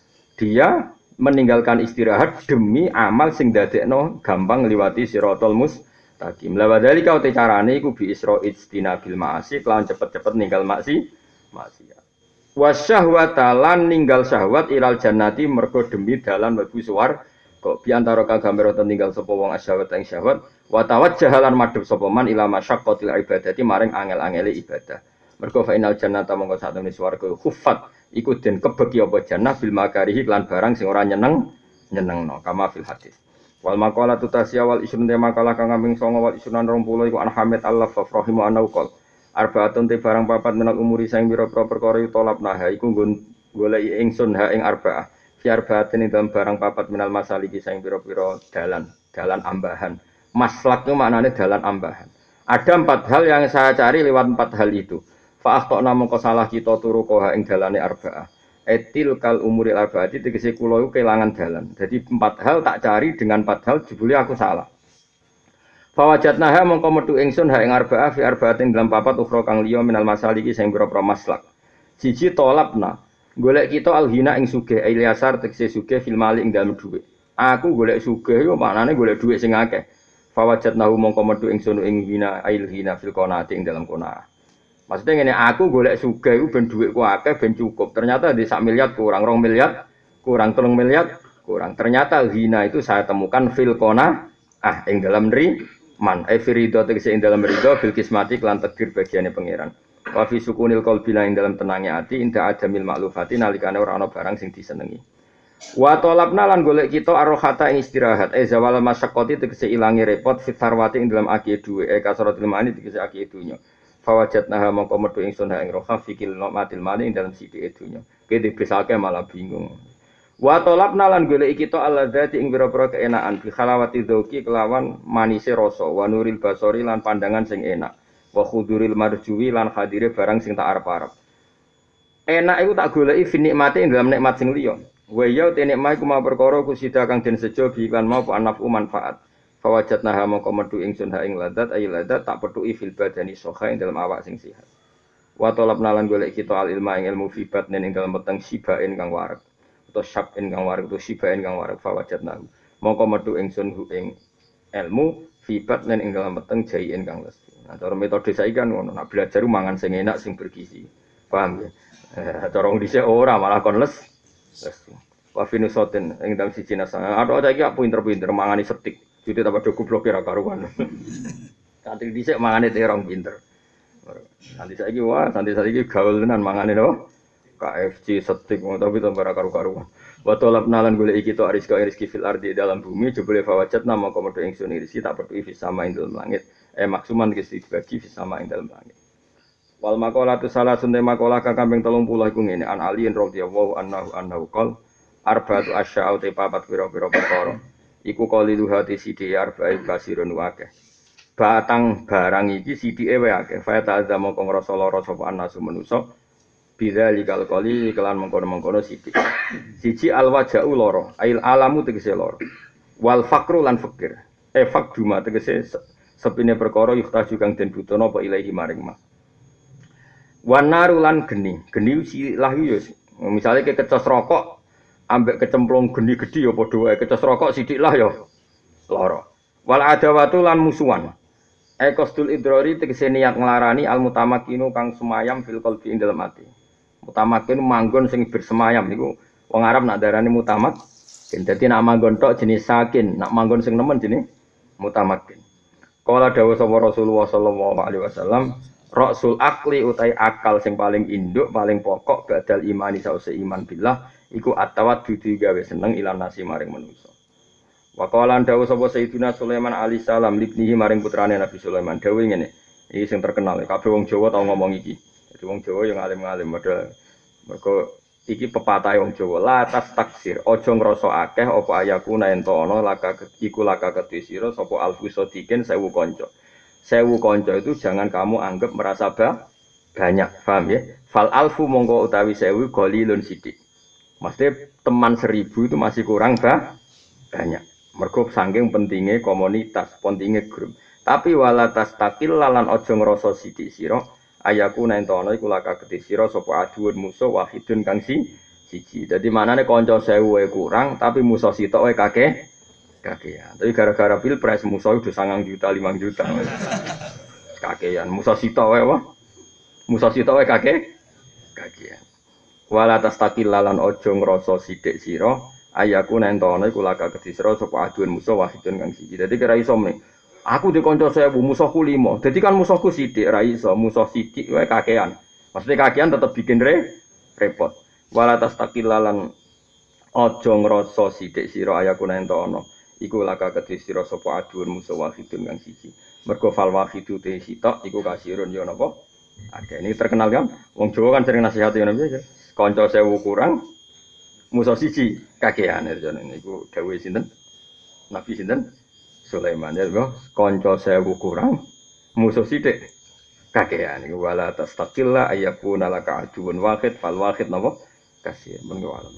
A: Dia meninggalkan istirahat demi amal sing dadekno gampang ngliwati siratal mustaqim. La wadzalika uti carane iku bi isra'id istinabil ma'asi kelawan cepet-cepet ninggal maksiat. Wasyahwata lan ninggal syahwat ilal jannati mergo demi dalan mlebu swarga. Kok bi antara kagambar utawa ninggal sapa wong asyahwat ing syahwat wa tawajjahalan madhep sapa man ila masyaqqatil ibadati maring angel-angele ibadah. Mergo fa inal jannata mongko satune swarga khuffat iku den kebeki apa jannah bil makarihi lan barang sing ora nyenengno kama fil hadis. Wal maqalatu tasya wal isrun te makalah kang kambing 9 wal isrunan 20 iku an Hamid Allah rahimu anaqal. Arbaatun te barang papat menal umuri sing pira-pira perkara tolap nah iku nggon goleki ingsun ha ing arbaah. Fiar batin dalam barang papat minal masaliki sing pira-pira dalan ambahan. Maslak itu maknanya dalan ambahan. Ada 4 hal yang saya cari lewat 4 hal itu. Fa akhtana mongko salah kita turu koha ing dalane arbaah. Etil kal umuril arbaati tegese kula iku kelangan dalan. Jadi 4 hal tak cari dengan 4 hal jebule aku salah. Fa wajadnaha mongko metu ingsun ha ing arbaah fi arbaatin dalam papat ukhra kang liya minal masaliki sing pira-pira maslak. Siji tolapna golek kita alhina ing sugih Ilyasar tegese sugih fil mali ing dalem dhuwit. Aku golek sugih yo maknane golek dhuwit sing akeh. Fawajatnahu mongko metu ingsun ing hina ailhina fil qanaati ing dalem qanaah. Maksudnya ngene aku golek sugih iku ben dhuwitku akeh ben cukup. Ternyata di 1 miliar kurang 2 miliar, kurang 3 miliar, kurang. Ternyata hina itu saya temukan fil qanaah ing dalem man firido tegese ing dalem ridho bil kismati lan takdir bagiane pangeran. Wa fi sukunil qalbi ing dalam tenangnya ati inda adamil maklufati nalikane ora ana barang sing disenengi. Wa talabna lan golek kita arrohata ing istirahat zawal masyaqqati tegese ilangi repot fit sarwati ing dalam aki duwe kasratul mani tegese aki dunya. Fa wajadnaha mongko metu ingsun ing roha fikil matil mali ing dalam sithik dunya. Kene besake malah bingung. Wa talabna lan golek kita alladzati ing pira-pira keenaan bi khalawati dzauqi kelawan manise rasa wa nuril basori lan pandangan sing enak. Wa khuduril marjuwi lan hadire barang sing tak arep-arep. Enak iku tak goleki fi nikmate ing dalam nikmat sing liya. Wa ya te nikmat iku ma perkara kusida kang den sejo bi lan mau anafu manfaat. Fa wajadnaha mongko metu ingsun ha ing ladat ay ladat tak petuki fil badani soha ing dalam awak sing sehat. Wa talabna lan golek kita al ilma ing ilmu fi batnin ing dalam peteng sibain kang wareg. Utawa syabin kang wareg utawa sibain kang wareg fa wajadnahu. Mongko metu ingsun hu ing ilmu fi batnin ing dalam peteng jaien kang lesi. Nah, cara metode saiki kan ngono, nak belajar mangan sing enak sing bergizi. Paham ya? Cara wong dhisik ora malah kon les. Wa finusoten ing dalem siji nasang. Atok saiki aku pinter-pinter mangani setik. Jadi tambah do goblok ora karuan. Santri dhisik mangane terong pinter. Nanti saiki wah, nanti saiki gaul tenan mangane no. KFC setik tapi tambah ora karu-karuan. Wa talabna lan golek iki to rezeki fil ardi dalam bumi jebule fawajat nama komodo ingsun rezeki tak perlu fi sama ing dalam langit. Maksuman kesti dibagi fi sama ing dalam langit. Wal maqalatu salasun maqalah kang kaping 30 iku ngene an Ali radhiyallahu anhu qol arba'atu asya'u te papat pira-pira perkara Iku qalilu hati sithik arba'i kasirun akeh. Batang barang iki sithike wae akeh. Fa ta'adza mongko ngrasa lara sapa anasu manusa. Bidzal qali kelan mengkono-mengkono sithik. Siji alwaja'u lara, ail alamu tegese lara. Wal fakru lan fakir. Fakduma tegese sepine perkara yuhtaju kang den butuhna apa ilahi maring ma. Wanaru lan geni, geni silah yo. Misale ke kecos rokok ambek kecemplung geni gedhi ya padha wae. Kecos rokok sithik lah ya lara. Wal adawatu lan musuhan. Kostul idrari tegese niat nglarani al mutamakinu kang semayam fil qalbi ing dalem ati. Mutamakin manggon sing bersemayam niku wong Arab nak darani mutamak. Dadi nak manggon tok jenis sakin, nak manggon sing nemen jenis mutamakin. Kala dawuh sapa Rasulullah sallallahu alaihi wasallam, Rasul akli utai akal sing paling induk, paling pokok badal imani sause iman billah iku atawat dudu gawe seneng ilan nasi maring manusa. Wa qala dawuh sapa Sayyidina Sulaiman alaihi salam libnihi maring putrane Nabi Sulaiman dawuh ngene. Iki sing terkenal, kabeh wong Jawa tau ngomong iki. Jadi wong Jawa yang alim-alim model mergo iki pepatah wong Jawa la tas taksir aja ngrasa akeh apa ayaku ento ana laka iku laka kedhe sira sapa alfusodikin 1000 kanca. 1000 kanca itu jangan kamu anggap merasa banyak, paham ya? Fal alfu mongko utawi 1000 qalilun sithik. Maksudnya teman 1000 itu masih kurang banyak. Mergo saking pentingnya komunitas, pentingnya grup. Tapi wala tas takil lalan aja ngrasa sithik sira ayaku nentono iku laka kedhe sira sapa aduun musuh wahidun kang siji. Dadi manane kanca 1000 kurang tapi musuh sitok wae kakean. Tapi gara-gara pilpres musuh udah 9 juta, 5 juta. Kakean. Musuh sitok wae wah. Musuh sitok wae kakean. Wala tastaqil lalan aja ngrasa sithik sira ayaku nentono iku laka kedhe sira sapa aduun musuh wahidun kang siji. Dadi kira iso meneh. Aku di kanca 1000 musuhku 5. Dadi kan musuhku sithik ra iso, musuh sithik wae kakean. Maksudnya kakean tetep bikin repot. Wala tastaqil lalan aja ngrasa sithik sira ayaku nentono iku laka kedhe sira sapa aduun musuh wahidun kang siji. Mergo fal wahidu te sitok iku kasirun ya napa? Ada ini terkenal kan? Wong Jawa kan sering nasihati ngono piye. Kanca 1000 kurang musuh siji kakean jane niku dawuh sinten? Nabi sinten? Sulaiman ya lho, kanca 1000 kurang musuh sithik kakean iku wala tastaqilla ayyakuna laka aduun wahid fal wahid napa? Kasih mengo alam.